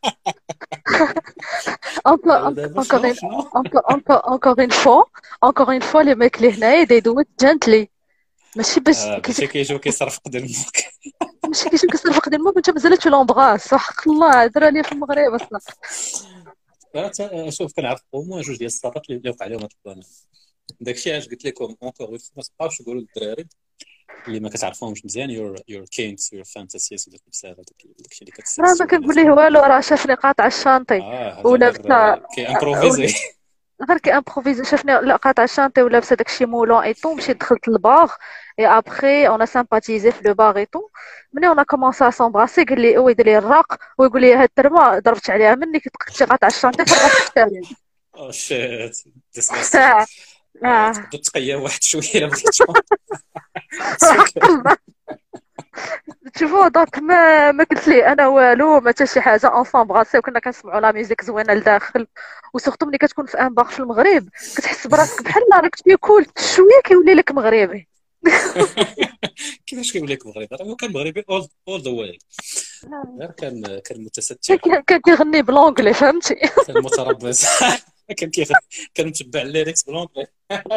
encore ودابا encore شنو une شنو encore encore encore une fois encore une fois les mecs اللي هنايا they do it gently ماشي باش آه كيف باش كيجيو كيصرفق ديال الموك ماشي كيجيو كيصرفق ديال الموت وانت مازال تو لومبغاس وحق الله هضر عليا في المغرب اصلا آه، شوف كنعرف او موان جوج ديال الساطات اللي وقع عليهم هاد البلان داكشي علاش قلت لكم اونكور ما تبقاوش تقولوا للدراري اللي ما كتعرفهمش مزيان يور يور كينكس يور فانتاسيز وداك البزاف هذاك داكشي اللي كتسيس راه ما كنقول ليه والو راه شافني قاطع الشانطي اه هذا ولا غير بتا كي امبروفيزي غير كي امبروفيزي شافني لا قاطع الشانطي ولابسه داكشي مولون اي طو مشيت دخلت للبار اي ابخي اون سامباتيزي في لو بار اي طو ملي اون كومونسا سامبراسي قال لي هو يدير لي الراق ويقول لي هاد الترمه ضربت عليها مني كنت كنتي قاطع الشانطي فرغت الشارع او شيت ديسغاستين اه تقدر تقيا واحد شويه الا بغيتو تشوفوا دونك ما ما قلت ليه انا والو ما حتى شي حاجه اون سامبراسي وكنا كنسمعوا لا ميوزيك زوينه لداخل وسورتو ملي كتكون في ان بار في المغرب كتحس براسك بحال راك تيكول شويه كيولي لك مغربي كيفاش كيقول لك مغربي راه هو كان مغربي اول اول ذا واي غير كان كان متستر كان كان كيغني بلونجلي فهمتي كان متربص كان كيغ كان متبع الليركس بلونجلي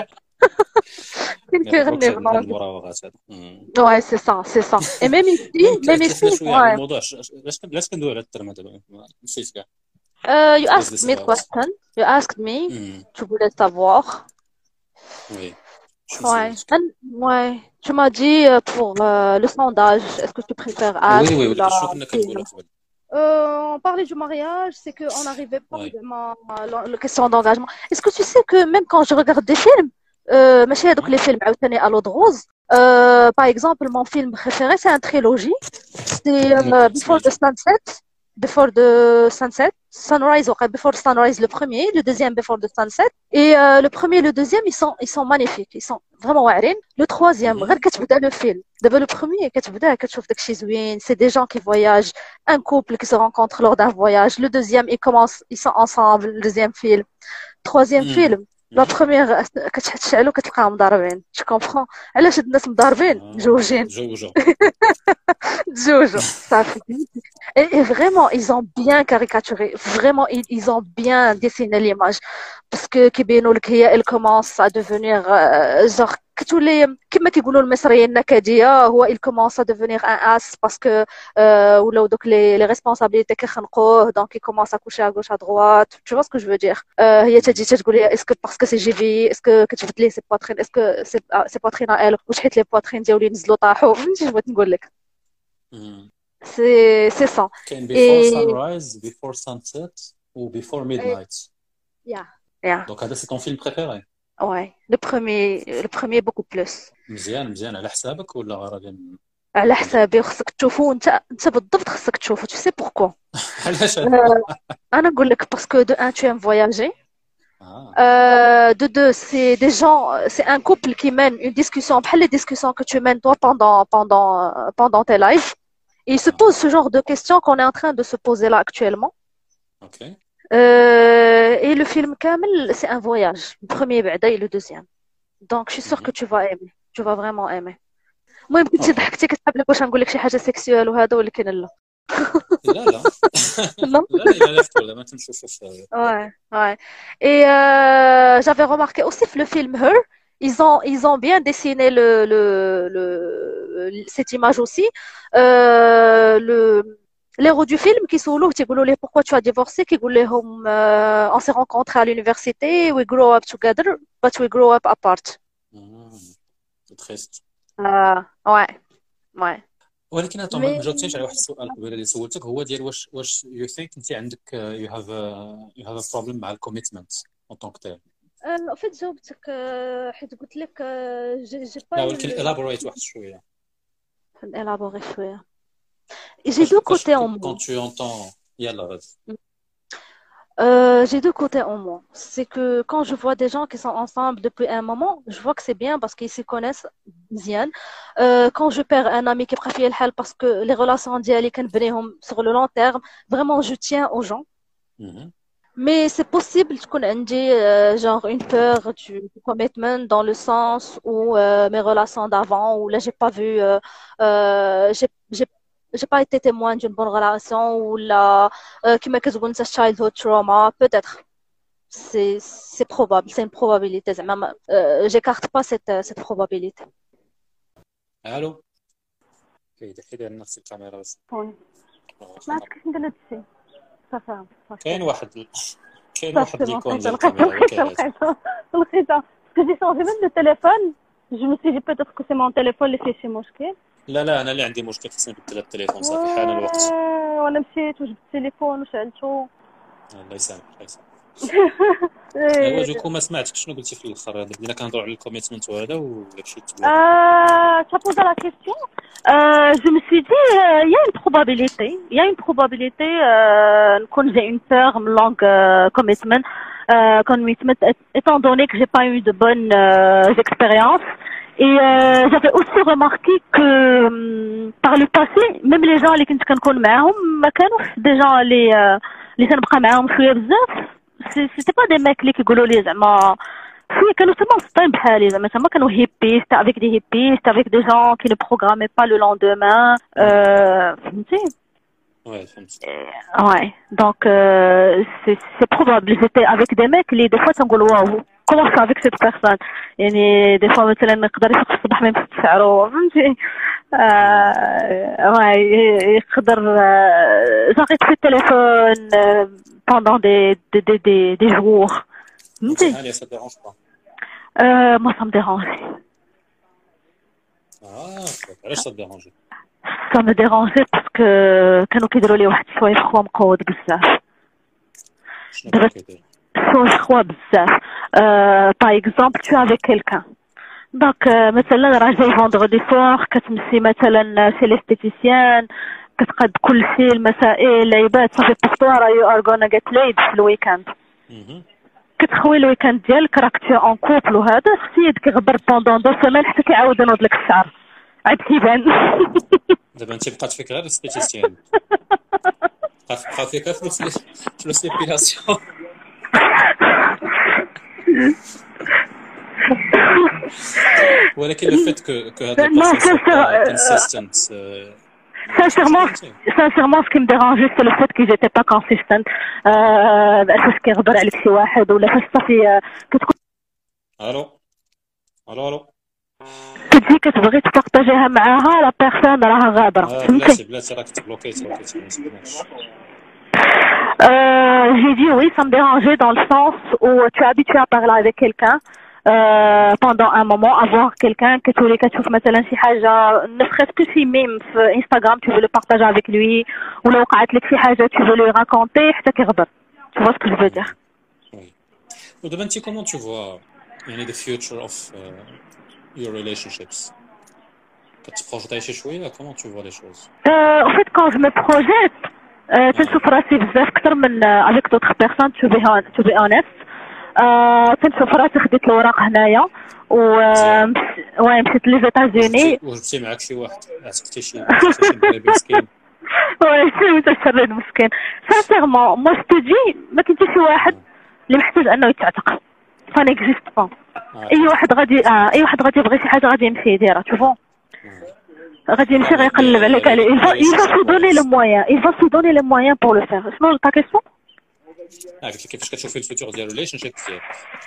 كان كيغني بلونجلي المراوغات هذا واي سي سا سي سا اي ميم ايسي ميم ايسي شويه على واي الموضوع علاش علاش كندوي على الترم هذا نسيت كاع Uh, you asked me a question. You asked me. Tu voulais savoir. Oui. Ouais. And, ouais. Tu m'as dit euh, pour euh, le sondage, est-ce que tu préfères As Oui, oui, ou oui. la شنو كنا كنقولوا قبل Euh, on parlait du mariage, c'est qu'on n'arrivait pas Ouais. vraiment à la, la question d'engagement. Est-ce que tu sais que même quand je regarde des films, euh, ماشي هذوك Ouais. les films عاوتاني à l'eau de rose, euh, par exemple, mon film préféré, c'est une trilogie. C'est euh, Ok, Before the سمعتو. Sunset, Before the Sunset, Sunrise, ouais, Before the Sunrise, le premier, le deuxième Before the Sunset. Et euh, le premier et le deuxième, ils sont, ils sont magnifiques, ils sont vraiment واعرين. Le troisième, Mhm. غير كتبدا le film. D'abord le premier, كتبدا كتشوف داكشي زوين, c'est des gens qui voyagent, un couple qui se rencontre lors d'un voyage. Le deuxième, ils commencent, ils sont ensemble, le deuxième film. Troisième Mhm. film, لا بروميير كتشعلو كتلقاهم مضاربين جو كومبخون علاش هاد الناس مضاربين مجوجين جوجو جوجو صافي et vraiment ils ont bien caricaturé vraiment ils, ils ont bien dessiné l'image parce que كيبينوا لك هي elle commence à devenir euh, genre كتولي كما كيقولوا المصريين نكديه هو il commence à devenir un as parce que euh, ولاو دوك les les responsabilités كيخنقوه donc il commence à coucher à gauche à droite tu vois ce que je veux dire euh, هي تجي تقول لي est-ce que parce que c'est جيفي est-ce que كتبت ليه سي بواترين est-ce que c'est c'est poitrine à elle واش حيت لي بواترين ديالو نزلوا طاحوا فهمتي اش بغيت نقول لك c'est c'est ça كاين before sunrise before sunset ou before midnight yeah yeah donc هذا c'est ton film préféré ouais le premier le premier beaucoup plus مزيان مزيان على حسابك ولا غير على حسابي خصك تشوفو انت انت بالضبط خصك تشوفو tu sais pourquoi علاش انا نقول لك parce que de un tu aimes voyager Euh, de deux, c'est des gens, c'est un couple qui mène une discussion, après les discussions que tu mènes toi pendant, pendant, pendant tes lives. Et ils se posent ce genre de questions qu'on est en train de se poser là actuellement. Ok. Euh, et le film Kamel, c'est un voyage. Le premier بعدا et le deuxième. Donc je suis sûre que tu vas aimer. Tu vas vraiment aimer. المهم كنتي ضحكتي كتحب لك واش نقول لك شي حاجه سيكسيوال وهذا ولكن لا. لا لا لا لا لا لا ما تنشوفوش. Ouais, ouais. Et euh, j'avais remarqué aussi que le film Her, ils ont ils ont bien dessiné le le le cette image aussi. Euh, le l'héros du film qui solo qui dit pourquoi tu as divorcé qui dit euh, on s'est rencontrés à l'université we grow up together but we grow up apart. C'est triste. Ah ouais ouais. ولكن انت ما جاوبتيش على واحد السؤال قبيله اللي سولتك هو ديال واش واش يو ثينك انت عندك يو هاف يو هاف ا بروبليم مع الكوميتمنت اون طونك تيل ان فيت جاوبتك حيت قلت لك جي جي با لا ولكن الابوريت واحد شويه الابوري شويه جي دو كوتي اون مو كون تو اونتون يلا غادي Euh, j'ai deux côtés en moi. C'est que quand je vois des gens qui sont ensemble depuis un moment, je vois que c'est bien parce qu'ils se connaissent bien. Euh, quand je perds un ami qui préfère le hal parce que les relations d'hier sur le long terme, vraiment je tiens aux gens. Mm-hmm. Mais c'est possible qu'on ait euh, genre une peur du, du commitment dans le sens où euh, mes relations d'avant où là j'ai pas vu, euh, euh, j'ai j'ai j'ai pas été témoin d'une bonne relation ou la qui m'a كتقول انت childhood trauma peut-être c'est c'est probable c'est une probabilité زعما euh, j'écarte pas cette cette probabilité. الو كاين حيدها نفس الكاميرا بس وي ما كيفاش ندير هاد الشيء صافي كاين واحد كاين واحد اللي يكون ديال الكاميرا لقيتها لقيتها كنت شونجي من التليفون جو مي سي جي peut-être que c'est mon téléphone اللي فيه شي مشكل. لا لا انا اللي عندي مشكل خصني نبدل التليفون صافي حان الوقت وانا مشيت وجبت التليفون وشعلته الله يسامحك الله يسامحك ايوا جوكو ما سمعتك شنو قلتي في الاخر بدينا كنهضروا على الكوميتمنت وهذا ولا شي تبع اه tu as posé la question euh, je me suis dit il euh, y a une probabilité il y a une probabilité نكون euh, j'ai une peur en langue euh, commitment euh, commitment étant donné que j'ai pas eu de bonnes euh, expériences. Et euh, j'avais aussi remarqué que euh, par le passé, même les gens اللي كنت كنكون معاهم ما كانوش des gens اللي اللي كنبقى معاهم شويه بزاف c'était pas des mecs اللي كيقولوا لي زعما شويه كانوا تما مسطين بحالي زعما تما كانوا هيبي c'était avec des hippies c'était avec des gens qui ne programmaient pas le lendemain euh, فهمتي ouais فهمت ouais donc euh, c'est c'est probable j'étais avec des mecs اللي des fois تنقول واو comment ça avec cette personne يعني des fois مثلا نقدر يفيق الصباح ما يمسكش شعرو فهمتي ouais يقدر j'arrête le téléphone pendant des des des des, des jours فهمتي allez ça dérange pas euh moi ça me dérange ah علاش ça dérange ça me dérangeait parce que كانوا كيديروا لي واحد شويه خوا مقود بزاف شنو كيدير شويه خوا بزاف par exemple tu es avec quelqu'un donc مثلا راه جاي vendredi soir كتمشي مثلا chez l'esthéticienne كتقاد كل شيء المسائل العيبات صافي بورتو راه you are gonna get laid في الويكاند كتخوي الويكاند ديالك راك تي اون كوبل وهذا السيد كيغبر بوندون دو سيمين حتى كيعاود ينوض لك الشعر عاد كيبان دابا انت بقات فيك غير الاستيتيسيان بقى فيك فلوس فلوس ليبيلاسيون ولكن le fait que que هذا البروسيس consistent sincèrement sincèrement ce qui me dérangeait c'est le fait qu'ils étaient pas consistent بأساس كيغبر عليك شي واحد ولا فاش صافي كتكون الو الو الو كتجي كتبغي تبارطاجيها معاها لا بيرسون راها غادره فهمتي بلاتي بلاتي راك تبلوكيت بلوكيت ما سمعناش. Euh, j'ai dit oui, ça me dérangeait dans le sens où tu es habitué à parler avec quelqu'un euh, pendant un moment, avoir quelqu'un que tu voulais que tu مثلا شي حاجة ne serait-ce que si même في Instagram tu veux le partager avec lui ou لو وقعت لك شي حاجة tu veux lui raconter حتى كيغبر. Tu vois ce que je veux dire? Oui. ودابا انت comment tu vois يعني the future of uh, your relationships كتبروجيتي شي شوية comment tu vois les choses? Euh, en fait quand je me projette تنشوف راسي بزاف اكثر من avec d'autres personnes to be hon- to be honest. آه تنشوف راسي خديت الوراق هنايا و وي مشيت لي زيتازوني وجبتي معاك شي واحد عتقتي شي شي مغربي مسكين. وي شي متشرد مسكين سانسيرمون مو ستودي ما كاين حتى شي واحد اللي محتاج انه يتعتق فا نيكزيست با. اي واحد غادي آه اي واحد غادي يبغي شي حاجه غادي يمشي يديرها تشوفو غادي يمشي غيقلب عليك عليه il va il va se donner le moyen il va se donner les moyens pour le faire. شنو ta question؟ اه قلت لك كيفاش كتشوفي الفيتور ديال الريليشن شيب ديالك؟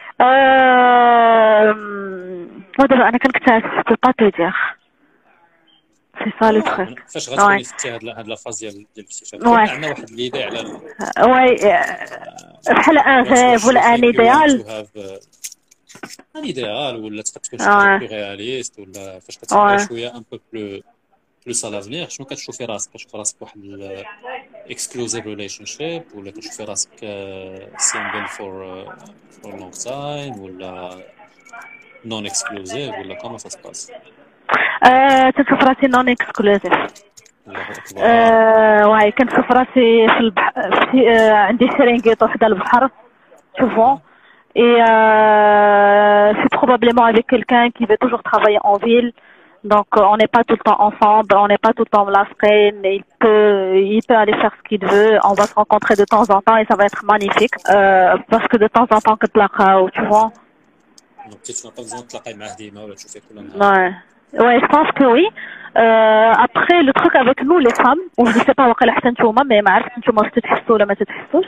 ودابا انا كنكتشف جو با تو دير سي سا لو تروك. فاش غتكوني فتي هاد هاد لا فاز ديال ديال الاكتشاف عندنا واحد ليدي على وي بحال ان ريف ولا ان ايديال ان ايديال ولا تقدر تكون شي بلو رياليست ولا فاش كتفكر شويه ان بو بلو بلوس على لافنيغ شنو كتشوفي راسك؟ كتشوفي راسك واحد اكسكلوزيف ريليشن شيب ولا كتشوفي راسك سينجل فور فور لونغ تايم ولا نون اكسكلوزيف ولا كومون سا سباس؟ تنشوف راسي نون اكسكلوزيف. واي كنشوف راسي في البحر عندي شرينغيط وحده البحر شوفو et euh, c'est probablement avec quelqu'un qui veut toujours travailler en ville. Donc on n'est pas tout le temps ensemble, on n'est pas tout le temps lasqué, il peut il peut aller faire ce qu'il veut, on va se rencontrer de temps en temps et ça va être magnifique euh, parce que de temps en temps كتلاقاو tu vois. Donc tu n'as pas besoin de تلاقاي معاه ديما ولا تشوفيه كل نهار. Ouais. Ouais, je pense que oui. Euh, après le truc avec nous les femmes, ou je sais pas واقيلا حتى نتوما mais ما عرفت نتوما واش تتحسوا ولا ما تتحسوش.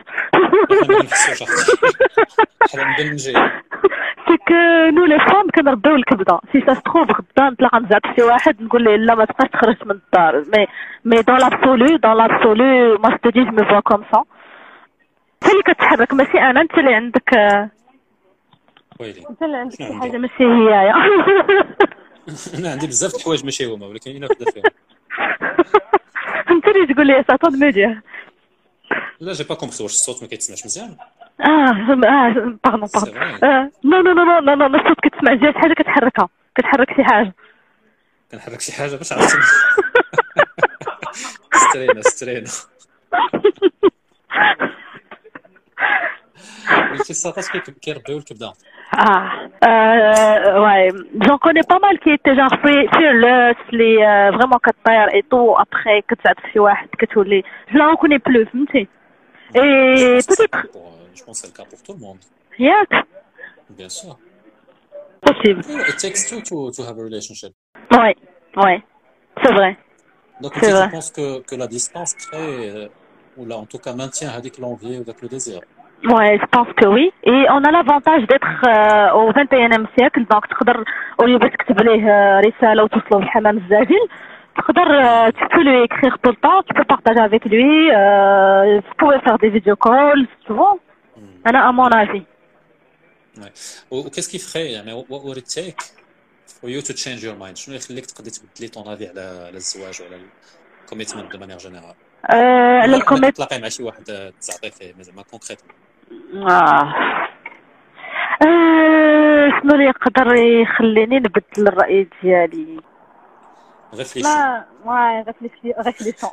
سي كو نو لي فام كنربيو الكبده سي سا ستروف غدا نطلع نزعق شي واحد نقول ليه لا ما تبقاش تخرج من الدار مي مي دون لابسولو دون لابسولو ما ستو دي جو مي فوا كوم سا انت اللي كتحرك ماشي انا انت اللي عندك ويلي انت اللي عندك شي حاجه ماشي هيايا. انا عندي بزاف د الحوايج ماشي هما ولكن انا وحده فيهم. انت اللي تقول لي ساطون ميديا. لا جي با كومبري واش الصوت ما كيتسمعش مزيان؟ اه اه باردون باردون نو نو نو نو نو الصوت كتسمع جات حاجه كتحركها كتحرك شي حاجه كنحرك شي حاجه باش عرفتي سترينا سترينا قلتي الساطاس كيربيو الكبده. Ah, euh, ouais, j'en connais pas mal qui étaient genre fearless, les euh, vraiment كطير et tout après que تعرف شي واحد كتولي je la reconnais plus فهمتي. Et peut-être je pense c'est le cas pour tout le monde. ياك Bien sûr. possible. It takes two to to have a relationship. Ouais, ouais, c'est vrai. Donc tu penses que que la distance crée ou là en tout cas maintient هذيك l'envie ou le désir. Ouais, je pense que oui. Et on a l'avantage d'être euh, au vingt et unième siècle, donc تقدر au lieu باش تكتب ليه رسالة وتوصلوا بالحمام الزاجل تقدر tu peux lui écrire tout le temps, tu peux partager avec lui, euh, vous pouvez faire des vidéo calls, tu vois. أنا à mon avis. Ouais. Ou qu'est-ce qui ferait يعني what would it take for you to change your mind؟ شنو يخليك تقدري تبدلي ton avis على على الزواج وعلى الكوميتمنت de manière générale؟ على الكوميت تلاقي مع شي واحد تزعطي فيه زعما كونكريتمون. آه. آه شنو اللي يقدر يخليني نبدل الرأي ديالي؟ ريفليشي. لا واي ريفليشي ريفليشون.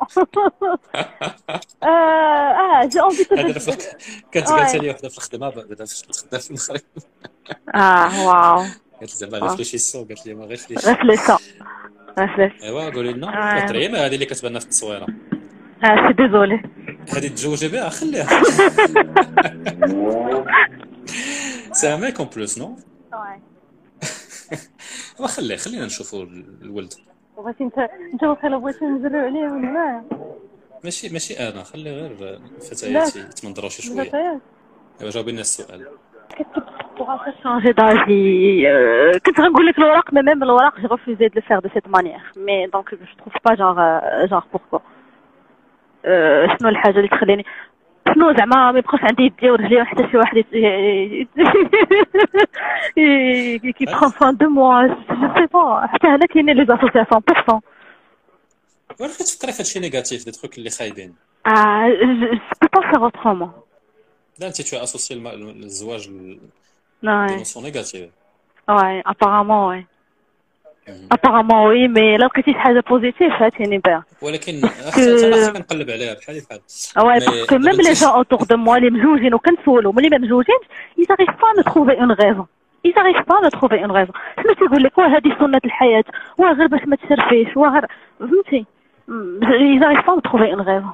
اه جي اونفي تو هذا كانت قالت لي وحده في الخدمه بعدا فاش كنت خدام في المغرب. اه واو. قالت لي زعما ريفليشيسون قالت لي ما ريفليشي. ريفليشون. ريفليشي. ايوا قولي لنا كتريم هذه اللي كتبان في التصويره. اه سي ديزولي. هذه تزوجي بها خليها. C'est un mec en plus, non? Ouais. وخليه خلينا نشوفوا الولد. بغيتي انت انت واخا بغيتي نزرعوا عليه ولا ماشي ماشي انا خلي غير الفتيات يتمنظروا شي شويه. الفتيات ايوا جاوبي لنا السؤال. changer d'avis. Euh, كنت غنقول لك الوراق mais même الوراق j'ai refusé de le faire de cette manière mais donc je trouve pas genre euh, genre pourquoi euh, شنو الحاجه اللي تخليني شنو زعما ما يبقاش عندي يدي ورجلي حتى شي واحد كي prend soin de moi je sais pas حتى هنا كاينين لي اسوسياسيون مية بالمية. واش كتفكري في هادشي نيجاتيف دي تروك اللي خايبين؟ اه je peux pas faire autrement. لا انت تو اسوسي الزواج Ouais. d'émotions négatives. Ouais, apparemment, oui. Apparemment, oui, mais là, que tu as positif, ça, c'est une bien. ولكن حتى كنقلب عليها بحال بحال. Ouais, parce que même les gens autour de moi, les مزوجين وكنسولهم اللي ما مزوجينش, ils n'arrivent pas à me trouver une raison. Ils n'arrivent pas à me trouver une raison. شنو تيقول لك واه هذه سنة الحياة, واه غير باش ما تشرفيش, واه غير فهمتي. Ils n'arrivent pas à me trouver une raison.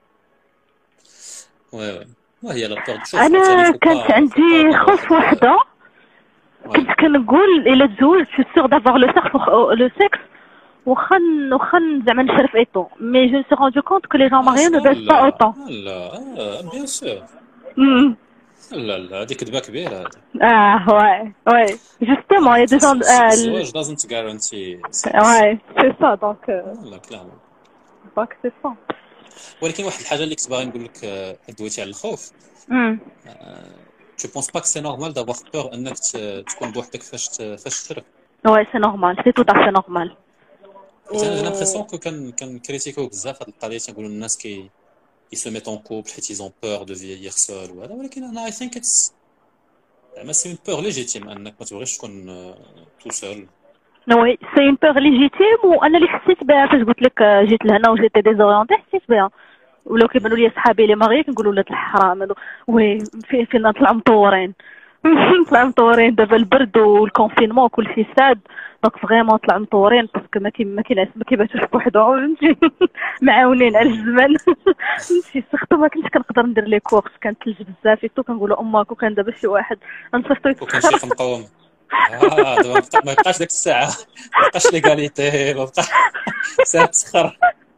Ouais, ouais. وهي لا بور تشوف. أنا كانت عندي خوف وحدة. كنت كنقول إلا تزوجت je suis sûre d'avoir le sexe le sexe واخا واخا زعما نشرف et tout mais je me suis rendu compte que les gens mariés ne baissent pas autant. لا bien sûr. لا لا هذه كذبة كبيرة هذه. اه ouais ouais justement il y a des gens الزواج doesn't guarantee. ouais c'est ça donc لا كلامك. donc c'est ça. ولكن واحد الحاجة اللي كنت باغي نقول لك دويتي على الخوف. Tu penses pas que c'est normal d'avoir peur انك تكون بوحدك فاش فاش تشرف؟ Ouais, c'est normal, c'est tout à fait normal. J'ai l'impression que كان كان كريتيكو بزاف هاد القضية تنقولوا الناس كي ils se mettent en couple حيت ils ont peur de vieillir seul وهذا ولكن انا I think it's زعما c'est une peur légitime انك ما تبغيش تكون tout seul. Oui, c'est une peur légitime وانا اللي حسيت بها فاش قلت لك جيت لهنا وجيت ديزوريونتي حسيت بها. ولو كيبانوا لي صحابي اللي ماغي كنقول ولاد الحرام هادو وي في فينا نطلعوا مطورين نطلعوا مطورين دابا البرد والكونفينمون كلشي ساد دونك فريمون طلعوا مطورين باسكو ما كي ما ما كيباتوش بوحدهم معاونين على الزمان فهمتي سختو ما كنتش كنقدر ندير لي كورس كانت ثلج بزاف تو كنقولوا اماك وكان دابا شي واحد نصيفطو وكان شي مقاوم اه دابا ما بقاش ديك الساعه ما بقاش ليغاليتي ما بقاش ساعه تسخر.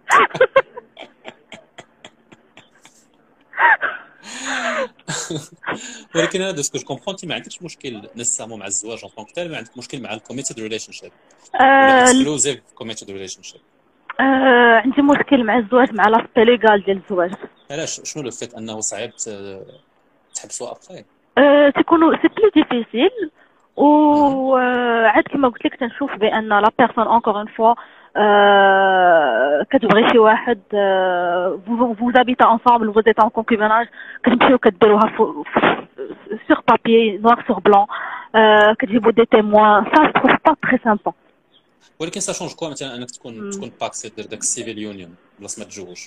ولكن انا دسكو جو كومبرون تي ما عندكش مشكل نسامو مع الزواج اون طونك تال ما عندك مشكل مع الكوميتد ريليشن شيب اكسكلوزيف كوميتد ريليشن شيب. عندي مشكل مع الزواج مع لاسبي ليغال ديال الزواج. علاش شنو لو فيت انه صعيب تحبسوا ابخي؟ تيكونوا سي بلو ديفيسيل و عاد كما قلت لك تنشوف بان لا بيرسون اونكور اون فوا كتبغي شي واحد vous habitez ensemble vous êtes en concubinage كتمشيو كديروها sur papier noir sur blanc كتجيبوا دي témoins ça je trouve pas très sympa. ولكن ça change quoi مثلا انك تكون تكون باكسي دير داك السيفيل يونيون بلاص ما تتزوج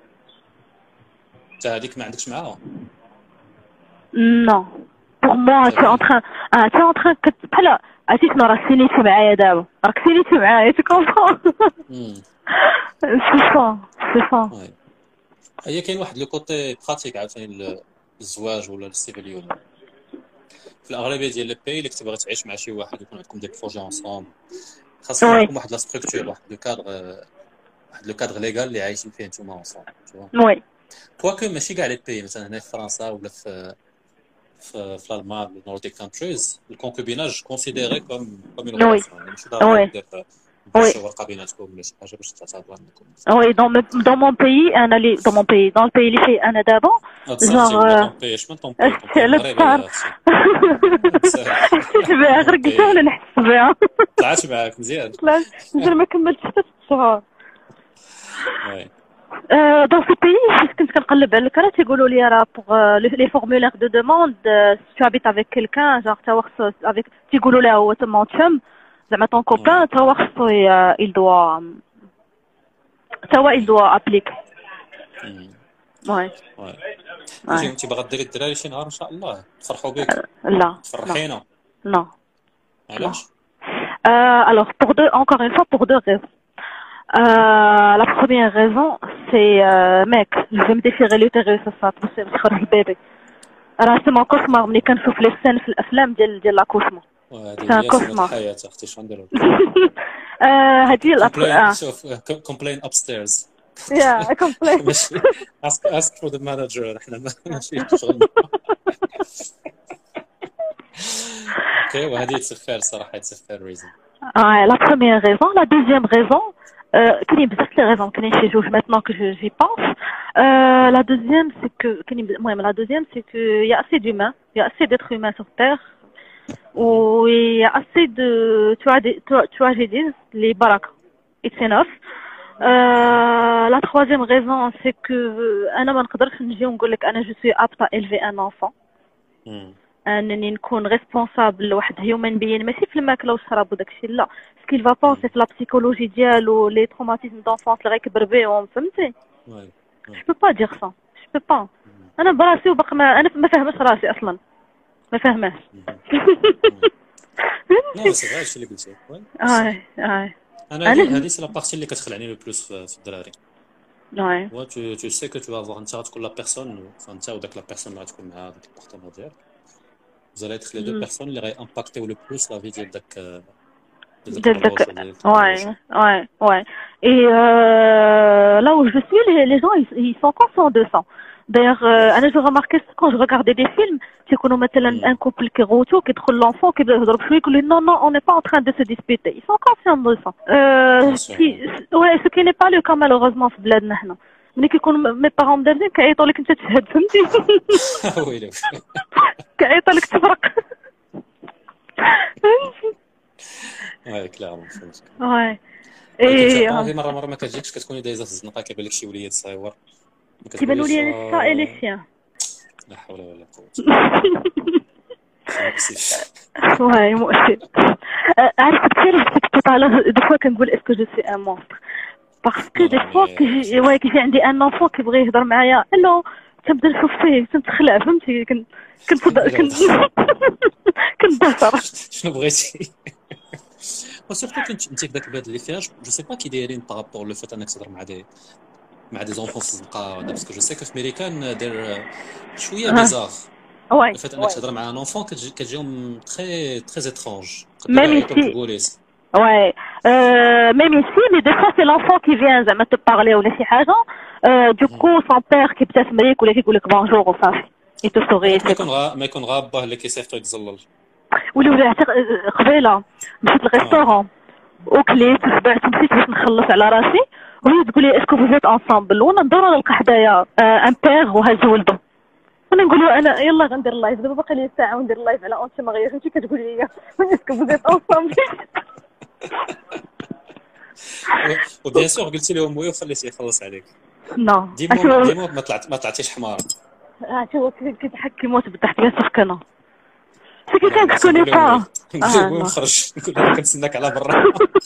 حتى هذيك ما عندكش معاها؟ non pour moi tu es en train tu es en train بحال عرفتي شنو راه سينيتي معايا دابا راك سينيتي معايا tu comprends. سي سا سي سا. هي كاين واحد لو كوتي براتيك عاوتاني الزواج ولا السيفيل يونيون في الاغلبيه ديال لي بي اللي كتبغي تعيش مع شي واحد يكون عندكم دي بروجي انصومبل خاصكم يكون واحد لا ستركتور واحد لو كادر واحد لو كادر ليغال اللي عايشين فيه نتوما انصومبل وي كواكو ماشي كاع لي بي مثلا هنا في فرنسا ولا في في في الالمان النورديك كونتريز الكونكوبيناج كونسيديري كوم كوم اون ريلاسيون ماشي ضروري دير باش ورقه بيناتكم ولا شي حاجه باش تعتبر عندكم. وي دون دون مون بيي انا لي دون مون بيي دون البيي اللي فيه انا دابا جونغ اش من طون بيي المغرب بها غير قلتها ولا نحس بها طلعت معاك مزيان لا ما كملتش حتى الشهر. وي dans ce pays كنت كنقلب على الكرا تيقولوا لي راه بوغ لي فورمولير دو دوموند tu habites avec quelqu'un genre تا خصو avec تيقولوا له هو تما تشم زعما طون كوبان تا هو خصو il doit تا هو il doit appliquer. وي وي انت باغا ديري الدراري شي نهار ان شاء الله تفرحوا بك؟ لا تفرحينا؟ لا علاش؟ alors pour deux encore une fois pour deux raisons. Euh, la première raison, c'est euh, mec, je vais me déchirer l'utérus, ça, ça, c'est le bébé. راه سي مون كوشمار ملي كنشوف لي سين في الافلام ديال ديال لاكوشمون وهذه سي ان هي سنة كوشمار. الحياة اختي، شنو نديرو؟ هادي كومبلين، شوف كومبلين ابستيرز يا كومبلين. ماشي اسك اسك فور ذا مانجر، احنا ماشي شغلنا. اوكي، وهذه تسفر صراحة تسفر ريزن. اه لا بروميير ريزون. لا دوزيام ريزون كاينين بزاف لي ريزون، كاينين شي جوج ميتنون كو جي بونس. لا دوزيام سي كو كاينين المهم لا دوزيام سي كو يا اسي دومان يا اسي ديتر هيومان سور تير و يا اسي دو تراجيديز لي بركه اتس انف. لا تروازيام ريزون سي كو انا ما نقدرش نجي ونقول لك انا جو سوي ابتا الفي ان انفون، انني نكون ريسبونسابل لواحد هيومن بيين ماشي في الماكله والشراب وداكشي، لا سكيل فا بونسي في لا بسيكولوجي ديالو لي تروماتيزم دونفونس اللي غيكبر بيهم، فهمتي؟ جو بو با دير سا، جو بو با. انا براسي وباقي ما انا ما فاهماش راسي اصلا، ما فاهماش. لا سي غير الشيء اللي قلتي. اي اي انا هذه سي لا بارتي اللي كتخلعني لو بلوس في الدراري. اي و تو تو سي كو تو افوار انت غتكون لا بيرسون، فانت وداك لا بيرسون اللي غتكون معاها داك البارتنير ديالك، vous allez être les deux personnes اللي غيمباكتيو لو بلوس لا في ديال داك ديال داك. واي واي واي اي là où je suis les, les gens ils, ils sont conscients de ça. D'ailleurs euh, انا جو remarqué quand je regardais des films تيكونوا مثلا un couple كيغوتو كيدخل لونفون كيبدا يهضر بشويه يقول لي non non on n'est pas en train de se disputer, ils sont conscients de ça. euh qui ouais ce qui n'est pas le cas malheureusement في بلادنا حنا. ملي كيكونوا مي بارون مدابزين كيعيطوا لك انت تشهد، فهمتي؟ ويلي كيعيطوا لك تفرق. واي كلارمون فهمتك. واي اي هذه مره مره ما كتجيكش، كتكوني دايزه في الزنقه كيبان لك شي وليد صغيور كيبانوا لي الشا اي لي سيان. لا حول ولا قوه. واي مؤسف. عرفت كثير كنت على دو فوا كنقول اسكو جو سي ان مونستر باسكو دي فوا كيجي واي كيجي عندي ان انفون كيبغي يهضر معايا الو تنبدا نشوف فيه تنتخلع، فهمتي؟ كنت كنت كنت كنتدهر. شنو بغيتي؟ وسيرتو كنت انت في ذاك البلاد اللي فيها جو سي با كي دايرين بارابور لو فات انك تهضر مع دي مع دي زونفون في الزنقه، باسكو جو سي كو في امريكان داير شويه بيزار. واي le fait انك تهضر مع ان enfant كتجيهم تري تري étrange. même ici ouais euh même ici mais des fois c'est l'enfant qui vient زعما te parler ولا شي حاجه du coup son père كيبتسم ليك ولا كيقول لك بونجور وصافي et te sourit. ما يكون غا ما يكون غا باه اللي كيصيفطو يتزلل ولا ولا قبيله مشيت للريستورون وكليت وشبعت ومشيت باش نخلص على راسي وهي تقول لي اسكو فوزيت انصامبل وانا ندور نلقى حدايا ان بير وهاز ولده انا نقول له انا يلا غندير اللايف دابا باقي لي ساعه وندير اللايف على اونتي مغير انت كتقول لي اسكو فوزيت انصامبل. وبيان سور قلتي لهم وي وخليتيه يخلص عليك. نو ديما ديما ما طلعت ما طلعتيش حمار. عرفتي هو كيضحك كيموت بالضحك بيان سور كنا سي كي كان تكوني با نقول له نخرج نقول له كنتسناك على برا.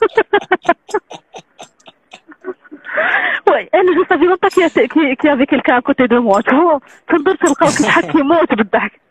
وي انا جو سافي مونطا كي كي كي افيك quelqu'un à côté de moi tu vois تنظر تلقاو كيضحك كيموت بالضحك.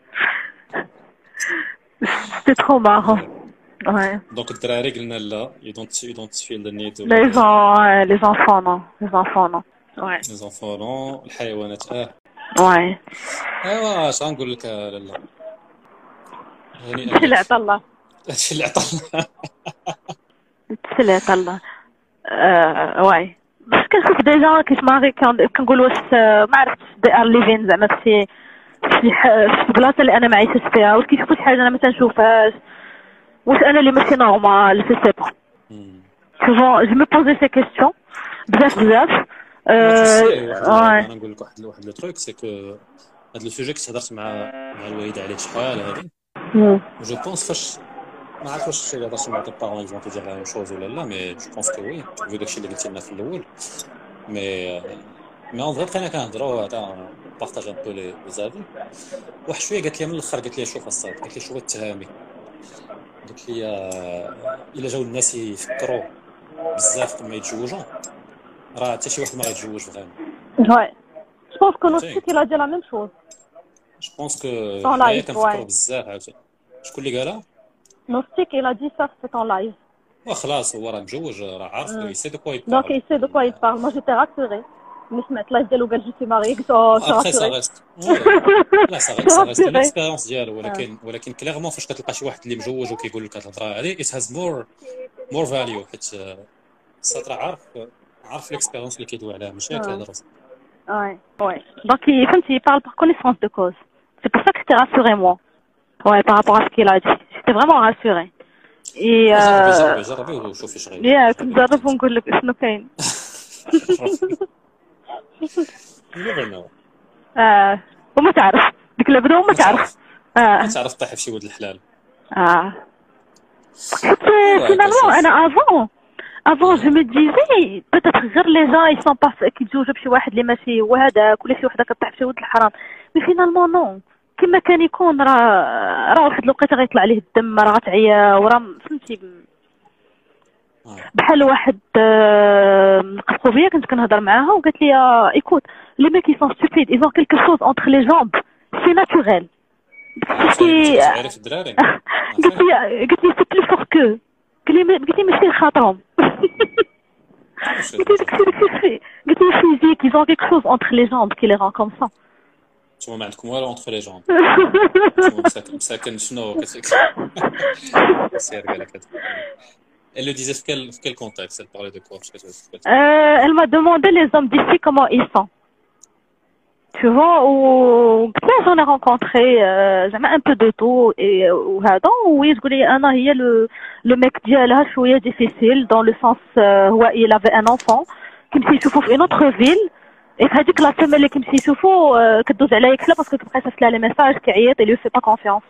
سي ترو مارون. Ouais. Donc الدراري قلنا لا you don't you don't feel the need. Les enfants les enfants non les enfants non. Ouais. Les enfants non. الحيوانات اه. Ouais. ايوا اش غنقول لك لالا. هادشي اللي عطا الله. هادشي اللي عطا الله. هادشي اللي عطا الله. اه واي. باش كنشوف ديجا كيتماري كنقول واش ما عرفتش دي ار ليفين زعما في شي في بلاصه اللي انا ما عايشاش فيها واش كيشوفوا شي حاجه انا ما تنشوفهاش واش انا اللي ماشي نورمال سي سي با. سوفون جو مي بوزي سي كيسيون بزاف بزاف. انا نقول لك واحد واحد لو تروك سي كو هاد لو سوجي كنت هضرت مع مع الوالده عليه شحال هادي جو بونس فاش ما عرفتش واش اللي هضرت مع البارون يزون تيجي لا ميم شوز ولا لا مي جو بونس كو وي في داكشي اللي قلتي لنا في الاول مي مي اون فري بقينا كنهضروا هذا بارطاج ان بو لي زافي. واحد شويه قالت لي من الاخر قالت لي شوف الصاد قالت لي شوف التهامي قالت لي الا جاو الناس يفكروا بزاف قبل ما يتزوجوا راه حتى شي واحد ما غيتزوج فريمون. وي جو بونس كو نوستيك لا دي لا ميم شوز. جو بونس كو هي كنفكروا بزاف عاوتاني. شكون اللي قالها؟ نوستيك il a dit ça c'est en live. وخلاص هو راه متزوج راه عارف يسي دو كوا يبارل. دونك يسي دو كوا يبارل. moi j'étais rassurée. ملي سمعت لايف ديالو قال جيتي ماري قلت اه ابخي سا شاطر ريست لا سا ريست سا ريست الاكسبيريونس ديالو ولكن ولكن كليرمون فاش كتلقى شي واحد اللي مجوج وكيقول لك هاد الهضره هادي ات هاز مور مور فاليو حيت السطر عارف عارف الاكسبيريونس اللي كيدوي عليها ماشي كيهضر. Ouais, ouais. Donc, il, il parle par connaissance de cause. C'est pour ça que j'étais rassurée, moi. Ouais, par rapport à ce qu'il a dit. J'étais vraiment rassurée. Et... جربي جربي وشوفي اش غيدير. يا كنت نجرب ونقول لك شنو كاين. You never know. اه وما تعرف ديك البدا وما تعرف. اه ما تعرف طيح في شي ولد الحلال. اه فينالمون انا افون افون جو مي ديزي بيتيت غير لي جان يسون با كيتزوجوا بشي واحد اللي ماشي هو هذاك ولا شي وحده كطيح في شي ولد الحرام مي فينالمون نو كما كان يكون راه راه واحد الوقيته غيطلع عليه الدم راه غتعيا وراه فهمتي بحال واحد قفقوبيه كنت كنهضر معاها وقالت لي ايكوت لي ميك يسون ستوبيد ايزون كيلكو شوز اونتر لي جامب سي ناتوريل قلت لي قلت لي قلت لي سي بلو فور كو قلت لي ماشي خاطرهم قلت لي قلت لي فيزيك ils ont quelque chose entre les jambes qui les rend comme ça. نتوما ما عندكم والو اونتر لي جامب. مساكن شنو كتسير قال لك. Elle le disait في quel, quel contexte? Elle parlait de quoi? euh, Elle m'a demandé les hommes d'ici comment ils sont. Tu vois, ou j'en ai rencontré euh, un peu de tout et وهذا oui تقول لي انا هي le le mec ديالها شويه difficile dans le sens هو euh, il avait un enfant كيمشي يشوفو في une autre ville et في هذيك لا سيمين اللي كيمشي يشوفو euh, كدوز عليا يكلا باسكو كتبقى صيفط لها لي ميساج كيعيط et lui fait pas confiance.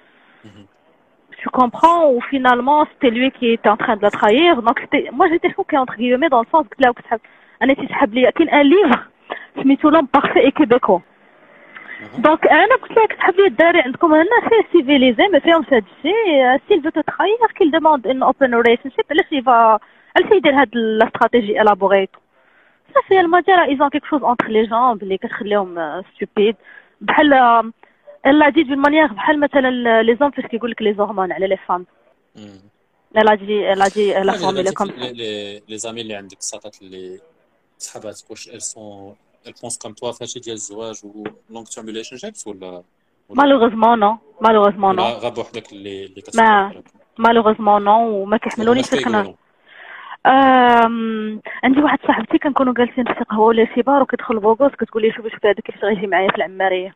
Tu comprends ou finalement c'était lui qui était en train de la trahir donc c'était moi j'étais choquée entre guillemets dans le sens que là où انا تيسحب لي كاين ان ليفر سميتو لوم بارفي اي كيبيكو دونك انا قلت لها كتحب لي الدراري عندكم هنا فيه سيفيليزي ما فيهمش هاد الشيء سيل فو تراير كيل دوموند ان اوبن ريليشن شيب علاش يفا علاش يدير هاد الاستراتيجي الابوغيتو صافي المجال ايزون كيك شوز اونتر لي جامب اللي كتخليهم ستوبيد بحال الا ديت بون مانيير بحال مثلا لي زوم فاش كيقول لك لي هرمون على لي فام لا دي لا دي لا فاميلي كوم لي لي زامي اللي عندك صاطات اللي صحاباتك واش elles sont elles pensent comme toi فهادشي ديال الزواج و long term relationships ولا مالوغوزمون نو مالوغوزمون نو غاب وحدك اللي اللي ما مالوغوزمون نو وما كيحملونيش فاش كنا أم... عندي واحد صاحبتي كنكونوا جالسين في قهوه ولا شي بار وكيدخل بوغوس كتقول لي شوفي شوفي هذا كيفاش غيجي معايا في العماريه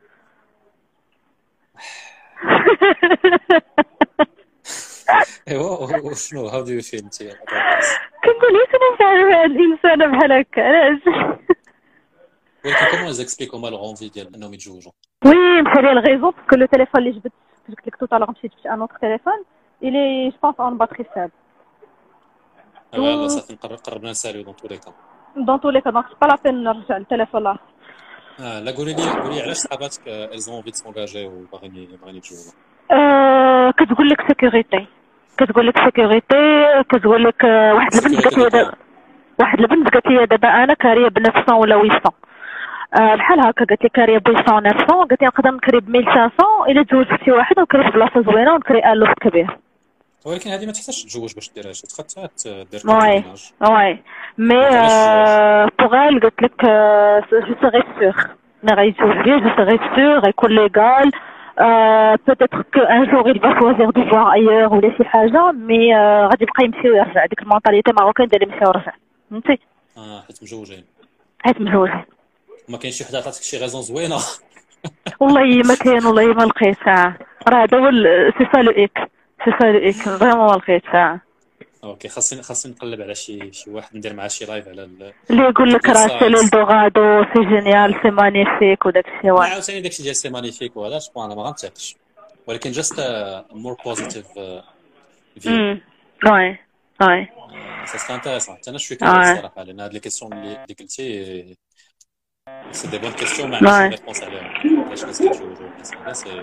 ايوا شنو هاو دو يو فيل انت كنقول لي شنو نفعل بهاد الانسانه بحال هكا علاش ولكن كومون زيكسبليكو مال غونفي ديال انهم يتزوجوا وي مشى لي الغيزون باسكو لو تيليفون اللي جبت قلت لك تو طالع مشيت في ان اوتر تيليفون الي جو بونس اون باتري فاب يلا صافي نقرر قربنا نساليو دون تو لي كا دون تو لي كا دونك با لا بين نرجع للتليفون لا اه لا قولي لي قولي علاش صحاباتك elles ont envie de s'engager وباغيين باغيين يتزوجوا اه كتقول لك سيكوريتي كتقول لك سيكوريتي كتقول لك واحد البنت قالت لي دابا واحد البنت قالت لي دابا انا كاريه ب neuf cents ولا huit cents أه بحال هكا قالت لي كاريه ب huit cents neuf cents قالت لي نقدر نكري ب mille cinq cents الا تزوجت شي واحد ونكري في بلاصه زوينه ونكري ان لوفت كبير ولكن هذه ما تحتاجش تتزوج باش ديرها شي تخا دير وي وي مي بوغ ال قلت لك جو سيغي سور مي غيتزوج بيا جو سيغي سور غيكون ليغال peut-être qu'un jour il va choisir de voir ailleurs ولا شي حاجه مي غادي يبقى يمشي ويرجع ديك المونطاليتي ماروكان ديال يمشي ويرجع فهمتي اه حيت مجوجين حيت مجوجين ما كاينش شي وحده عطاتك شي غازون زوينه والله ما كاين والله ما لقيت راه هذا هو سي سا لو ايك سي سا لو ايك فريمون ما لقيت اوكي خاصني خاصني نقلب على شي شي واحد ندير معاه شي لايف على اللي يقول لك راه سي لولدوغادو سي جينيال سي مانيفيك وداك الشيء واحد عاوتاني داكشي ديال سي مانيفيك وهذا جو انا ما غنتاكش ولكن جاست مور بوزيتيف فيو وي وي سا سي انتريسون انا شويه كنت صراحه لان هاد لي كيسيون اللي قلتي سي دي بون كيسيون ما عنديش ريبونس عليهم علاش الناس كيتزوجوا هذا سي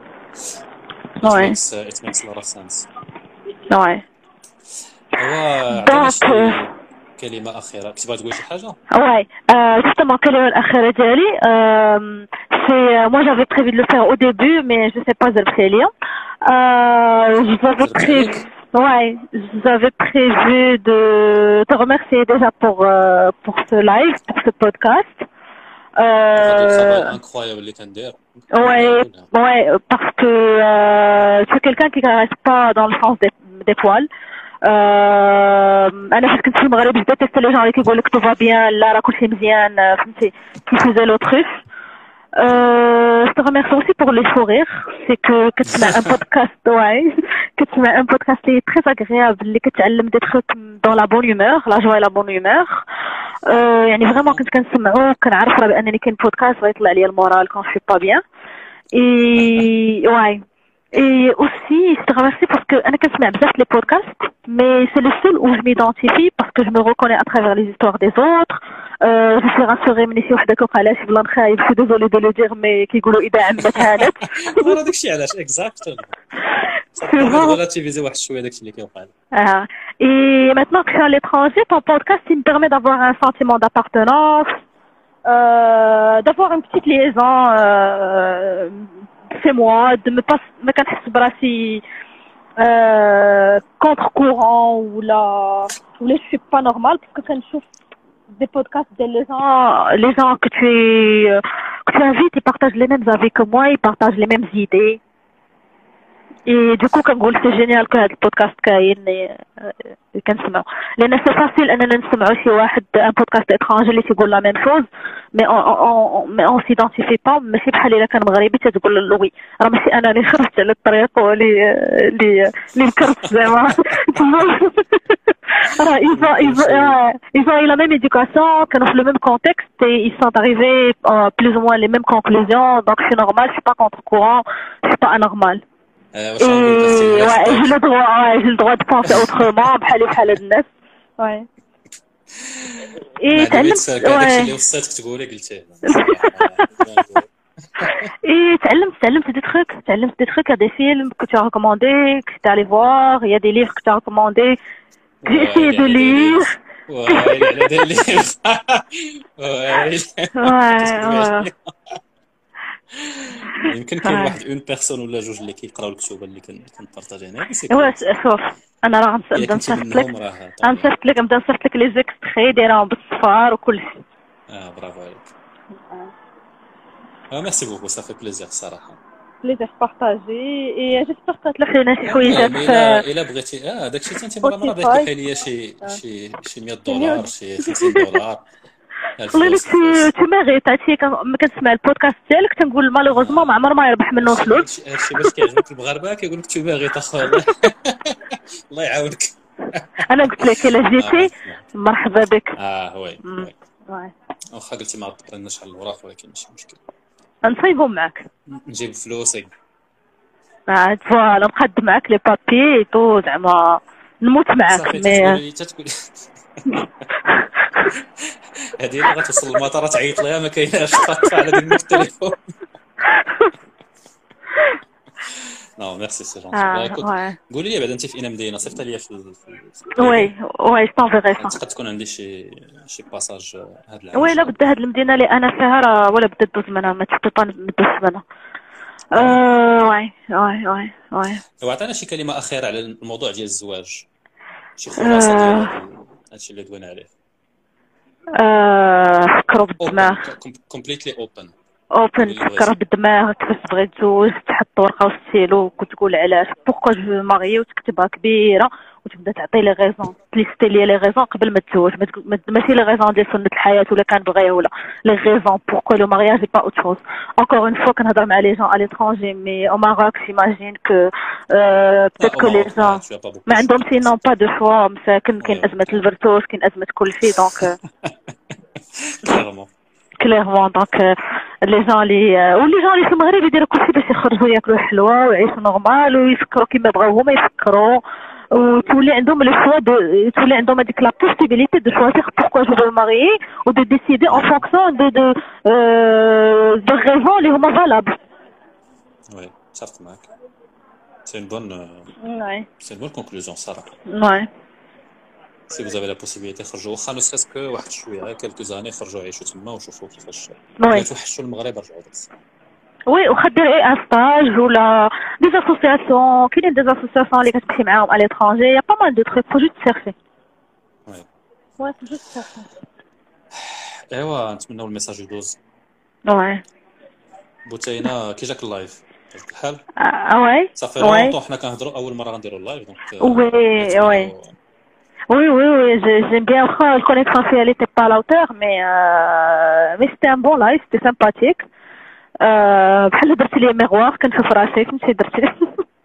وي ات ميكس لوت اوف سنس وي دونك كلمة أخيرة كنت باغي تقولي شي حاجة؟ Ouais, euh, justement, الكلمة الأخيرة ديالي euh, c'est moi j'avais prévu de le faire au début mais je sais pas Zerfelia. Euh, j'avais prévu ouais, j'avais prévu de te remercier déjà pour euh, pour ce live, pour ce podcast. هذا الترافاي Euh, انكرويابل اللي كندير. ouais, ouais, parce que euh, c'est quelqu'un qui caresse pas dans le sens des, des poils. Euh, انا فاش كنت في المغرب بديت تيست لي جون اللي كيقول لك تو فا بيان لا راه كلشي مزيان آه، فهمتي كيفوزي لوتريف. Euh, je te remercie aussi pour les fous rires. C'est que que tu as un podcast, ouais, que tu as un podcast qui est très agréable, اللي كتعلم des trucs dans la bonne humeur, la joie et la bonne humeur. Euh, يعني vraiment كنت كنسمعو كنعرف راه بانني كاين بودكاست غيطلع لي المورال quand je suis pas bien. Et ouais. Et aussi, je te remercie parce que انا كنسمع بزاف les podcasts, mais c'est le seul où je m'identifie parce que je me reconnais à travers les histoires des autres. Euh, je suis rassurée من شي وحده كوقع شي بلان خايب. Je suis désolée de le dire mais كيقولوا اذا عمت هانت. راه داكشي علاش اكزاكتلي relativiser واحد شويه داكشي اللي كيوقع. Ah. Et maintenant que je suis à l'étranger, ton podcast il me permet d'avoir un sentiment d'appartenance, euh, d'avoir une petite liaison euh, chez moi, de me pas me كنحس براسي euh, contre-courant ou là ou là je suis pas normale parce que quand je trouve des podcasts de les gens les gens que tu euh, que tu invites ils partagent les mêmes avis que moi, ils partagent les mêmes idées. Et du coup كنقول سي جينيال كو هذا البودكاست كاين كنسمعو لان سي فاسيل اننا نسمعو شي واحد ان بودكاست اترانجي اللي تيقول لا ميم شوز مي اون مي اون سيدونتيفي با ماشي بحال الا كان مغربي تتقول له وي راه ماشي انا اللي خرجت على الطريق واللي اللي اللي نكرت زعما راه ils ont ils ont ils ont eu la même éducation كانوا في le même contexte et ils sont arrivés à plus ou moins les mêmes conclusions donc c'est normal je suis pas contre courant je suis pas anormal. واش غنقول ouais j'ai le droit ouais j'ai le droit de penser autrement بحالي بحال هاد الناس ouais et تعلمت داكشي اللي وصلتك تقولي قلتيه et تعلمت تعلمت des trucs تعلمت des trucs il y a des films que tu as recommandés que tu es allé voir il y a des livres que tu as recommandés que j'ai essayé de lire ouais il y a des livres ouais ouais يمكن كاين واحد اون بيرسون ولا جوج اللي كيقراو الكتب اللي كنبارطاجي انا واه شوف انا راه غنبدا نصيفط لك غنصيفط لك نبدا نصيفط لك لي زيكستري دايرهم بالصفار وكل شيء. اه برافو عليك. اه ميرسي بوكو سا في بليزير الصراحه. بليزير بارطاجي اي جيسبر كتلح لينا شي حويجات. الا الا بغيتي اه داكشي حتى انت مره مره بغيتي تلحي ليا شي شي شي مية دولار شي خمسين دولار. والله لك تو ميريت هادشي كنسمع البودكاست ديالك تنقول مالوغوزمون ما عمر ما يربح منه فلوس. هادشي باش كيعجبك المغاربه كيقول لك تو ميريت اخويا الله يعاونك. انا قلت لك الا جيتي مرحبا بك. اه وي وي واخا قلتي ما تبرناش على الوراق ولكن ماشي مشكل نصايبهم معاك نجيب فلوسي عاد فوالا نقدم معاك لي بابي تو زعما نموت معاك مي هذه اللي غتوصل للمطار تعيط ليها ما كايناش خاطر على ديك التليفون. نو ميرسي سي جونتي. قولي لي بعدا انت في اين مدينه صيفط لي في وي وي طونفيغي صح تقدر تكون عندي شي شي باساج هاد العام. وي لا بدا هاد المدينه اللي انا فيها راه ولا بدا دوز منها ما تبقى ندوز منها. اه وي وي وي وي وعطينا شي كلمه اخيره على الموضوع ديال الزواج شي خلاصه ديال هادشي اللي دوينا عليه. ااا فكروا بالدماغ كومبليتلي اوبن اوبن فكر بالدماغ كيفاش تبغي تزوج تحط ورقه وستيلو وتقول علاش بوكو جو ماريي وتكتبها كبيره وتبدا تعطي لي غيزون تليستي لي لي غيزون قبل ما تزوج ماشي لي غيزون ديال سنه الحياه ولا كان بغيها ولا لي غيزون بوكو لو مارياج با اوت شوز encore une fois كنهضر مع لي جون à l'étranger mais au Maroc j'imagine que peut-être que les gens ما عندهم سينون با دو شوا مساكن كاين ازمه الفرتوش كاين ازمه كل شيء دونك كليرمون كليرمون دونك لي جون لي ولي جون لي في المغرب يديروا كلشي باش يخرجوا ياكلوا الحلوى ويعيشوا نورمال ويفكروا كيما بغاو هما يفكروا وتولي عندهم لو شوا دو تولي عندهم هذيك لا بوسيبيليتي دو شوازير بوركوا جو فو ماريي و دو ديسيدي اون فونكسيون دو دو دو ريزون اللي هما فالابل. وي صافي معاك سي اون بون وي سي اون بون كونكلوزيون صراحه. وي سي vous avez la possibilité خرجوا واخا نو سكو واحد شويه كالكو زاني خرجوا عيشوا تما وشوفوا كيفاش توحشوا المغرب رجعوا داكشي. وي واخا دير اي ان ستاج ولا دي اسوسياسيون كاينين دي اسوسياسيون اللي كتمشي معاهم على ليترونجي يا با مال دو تروك فو جوست سيرشي. وي وي فو جوست سيرشي. ايوا نتمنوا الميساج يدوز. وي بوتينا كي جاك اللايف عجبك الحال؟ آه، وي صافي وي لونطون حنا كنهضروا اول مره غنديروا اللايف دونك وي وي Oui, oui, oui, je- j'aime bien. Enfin, le connexion, si elle était pas à la hauteur, mais, euh, mais c'était un bon live, c'était sympathique. Euh, بحال درت لي ميغوار كنشوف راسي فهمتي درت لي.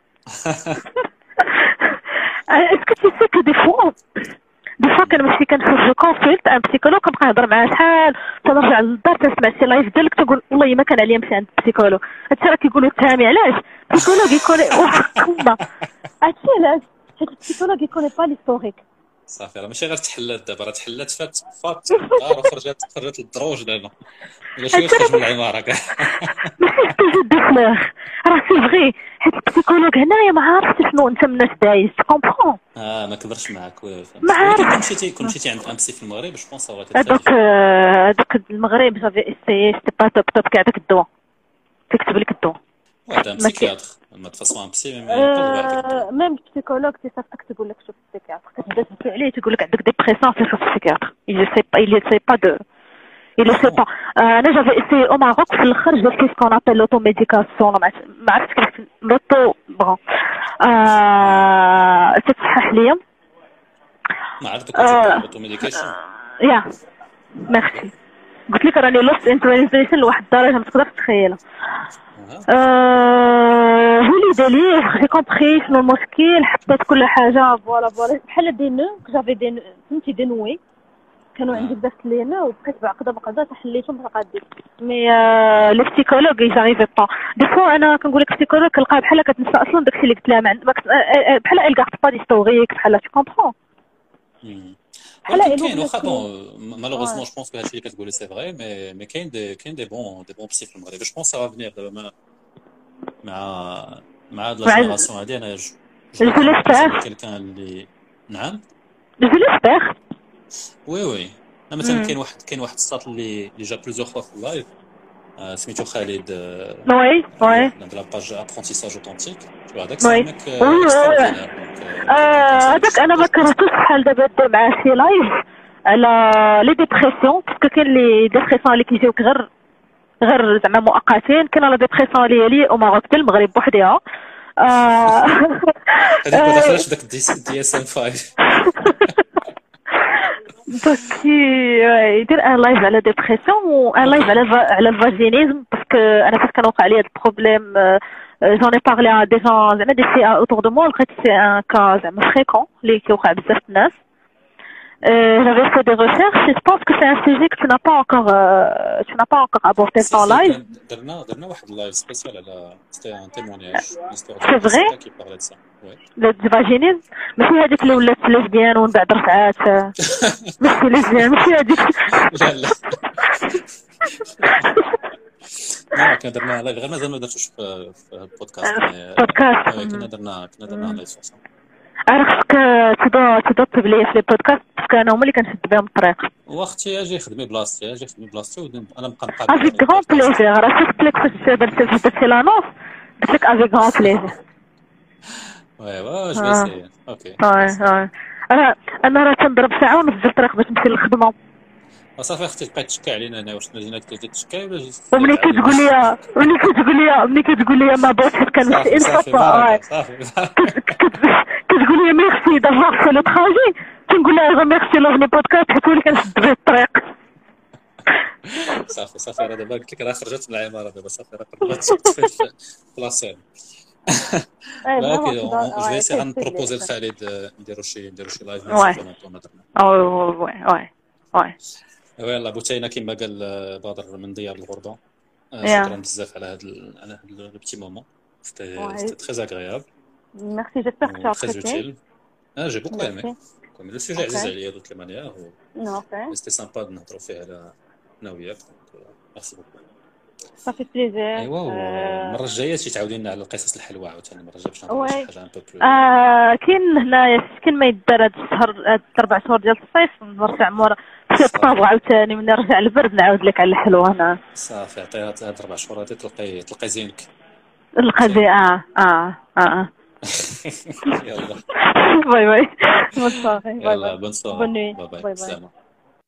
Est-ce que tu sais que des fois, des fois كنمشي كنشوف جو كونسلت ان بسيكولوج كنبقى نهضر معاه شحال تنرجع للدار تسمع شي لايف ديالك تقول والله ما كان عليا نمشي عند بسيكولوج. هادشي راه كيقولوا تهامي علاش بسيكولوج يكون واحد الكلمه هادشي علاش حيت البسيكولوج يكون با ليستوريك. صافي راه ماشي غير تحلات دابا راه تحلات فات فات راه خرجت خرجت الدروج دابا ولا شي خرج من العماره كاع. ماشي تجد دفلاغ راه سي فغي حيت البسيكولوج هنايا ما عارفتش شنو انت من الناس دايز كومبرون. اه ما كبرش معاك وي فهمت. ما عارف. ولكن كون مشيتي كون مشيتي عند ام سي في المغرب جو بونس راه هذوك هذوك المغرب جافي اسيي سيتي با توب توب كاع داك الدواء تكتب لك الدواء. هذا ام بسيكياتر ما تفاصون ام بسي ميم يقدر ميم البسيكولوج تي صافك تقول لك شوف البسيكياتر كتبدا تسول عليه تقول لك عندك ديبرسيون في شوف البسيكياتر il sait pas il sait pas de il le sait pas. انا جافي اسيي او ماروك في الاخر جات كيس كون ابل لوتو ميديكاسيون ما عرفتش كيف لوتو بون ا تصحح ليا ما عرفت كنت اوتو ميديكيشن يا ميرسي قلت لك راني لوست انتريزيشن لواحد الدرجه ما تقدرش تخيلها. هو اللي داليه جي كومبري شنو المشكل حطيت كل حاجه فوالا فوالا بحال دي نو جافي دي فهمتي دي نوي كانوا عندي بزاف لي نو وبقيت بعقده بعقده حليتهم ما قاديش مي لي بسيكولوج يجاريفي با دي فوا انا كنقول لك بسيكولوج كنلقاها بحال كتنسى اصلا داكشي اللي قلت لها بحال elle garde pas d'historique بحال tu comprends. ولكن كاين واخا بون مالوغوزمون جو بونس كو هادشي اللي كتقولي سي فغي مي مي كاين دي كاين دي بون دي بون بسي في المغرب جو بونس سا فا فينير دابا مع مع مع هاد لا جينيراسيون هادي انا جو كيلكان اللي نعم جو ليسبير وي وي مثلا كاين واحد كاين واحد الساط اللي اللي جا بليزيور فوا في اللايف سميتو خالد وي وي عند لاباج ابرونتيساج اوتونتيك هذاك سامك هذاك انا ما كرهتوش بحال دابا دير معاه شي لايف على لي ديبرسيون باسكو كاين لي ديبرسيون اللي كيجيوك غير غير زعما مؤقتين كاين لا ديبرسيون اللي هي لي او ماروك ديال المغرب بوحدها هذيك ما دخلش داك دي اس ام خمسة دونك يدير ان لايف على ديبرسيون و ان لايف على على الفاجينيزم باسكو انا فاش كان وقع لي هذا البروبليم j'en ai parlé à des gens زعما دي سي autour de moi لقيت سي ان كا زعما فريكون اللي كيوقع بزاف الناس. J'avais fait des recherches et je pense que c'est un sujet que tu n'as pas encore euh, tu n'as pas encore abordé dans live. درنا درنا واحد اللايف سبيسيال على سيتي ان تيمونياج C'est vrai كي بارلي دسا وي le vaginisme ماشي هذيك اللي ولات ليزبيان ومن بعد رجعات ماشي ليزبيان ماشي هذيك لا لا لا كنا درنا لايف غير مازال ما درتوش في البودكاست بودكاست كنا درنا كنا درنا لايف صح عرفتك تبدا تبدا تبلي في البودكاست باسكو انا هما اللي كنشد بهم الطريق واختي اجي خدمي بلاصتي اجي خدمي بلاصتي وانا نبقى نقاد افيك غون بليزير راه شفت لك فاش درت درتي لانونس قلت لك افيك غون بليزير وي وي جو سي اوكي وي وي انا انا راه تنضرب ساعه ونص في الطريق باش نمشي للخدمه صافي اختي تبقى تشكى علينا انا واش مدينه كتشكى ولا وملي كتقول لي ملي كتقول لي ملي كتقول لي ما بغيتش حيت كنمشي صافي صافي كتقول لي ميرسي دافوار في لو تراجي كنقول لها ميرسي لافني بودكاست حيت هو اللي كنشد به الطريق. صافي صافي راه دابا قلت لك راه خرجت من العماره دابا صافي راه قربت في بلاصه ولكن جو في سي غنبروبوزي لخالد نديرو شي نديرو شي لايف وي وي وي وي ويلا بوتينا كما قال بدر من ديار الغربه شكرا بزاف على هذا على هذا لو بتي مومون سيتي تري اغريابل ميرسي جيسبر كو ابريسيي اه جي بوكو ايمي كوم لو سوجي عزيز عليا دوك لي مانيير و سيتي سامبا نهضروا فيه على انا وياك ميرسي بوكو صافي بليزير. ايوا المره الجايه شي تعاودي لنا على القصص الحلوه عاوتاني المره الجايه باش نهضروا شي حاجه ان بو بلو اه كاين هنايا كاين ما يدار هاد الشهر هاد اربع شهور ديال الصيف نرجع مورا شي طابغ عاوتاني من نرجع للبرد نعاود لك على الحلوه هنا صافي عطيها هاد اربع شهور هادي تلقاي تلقاي زينك تلقى زي اه اه اه يلا باي باي بون سواري يلا بون سواري باي باي باي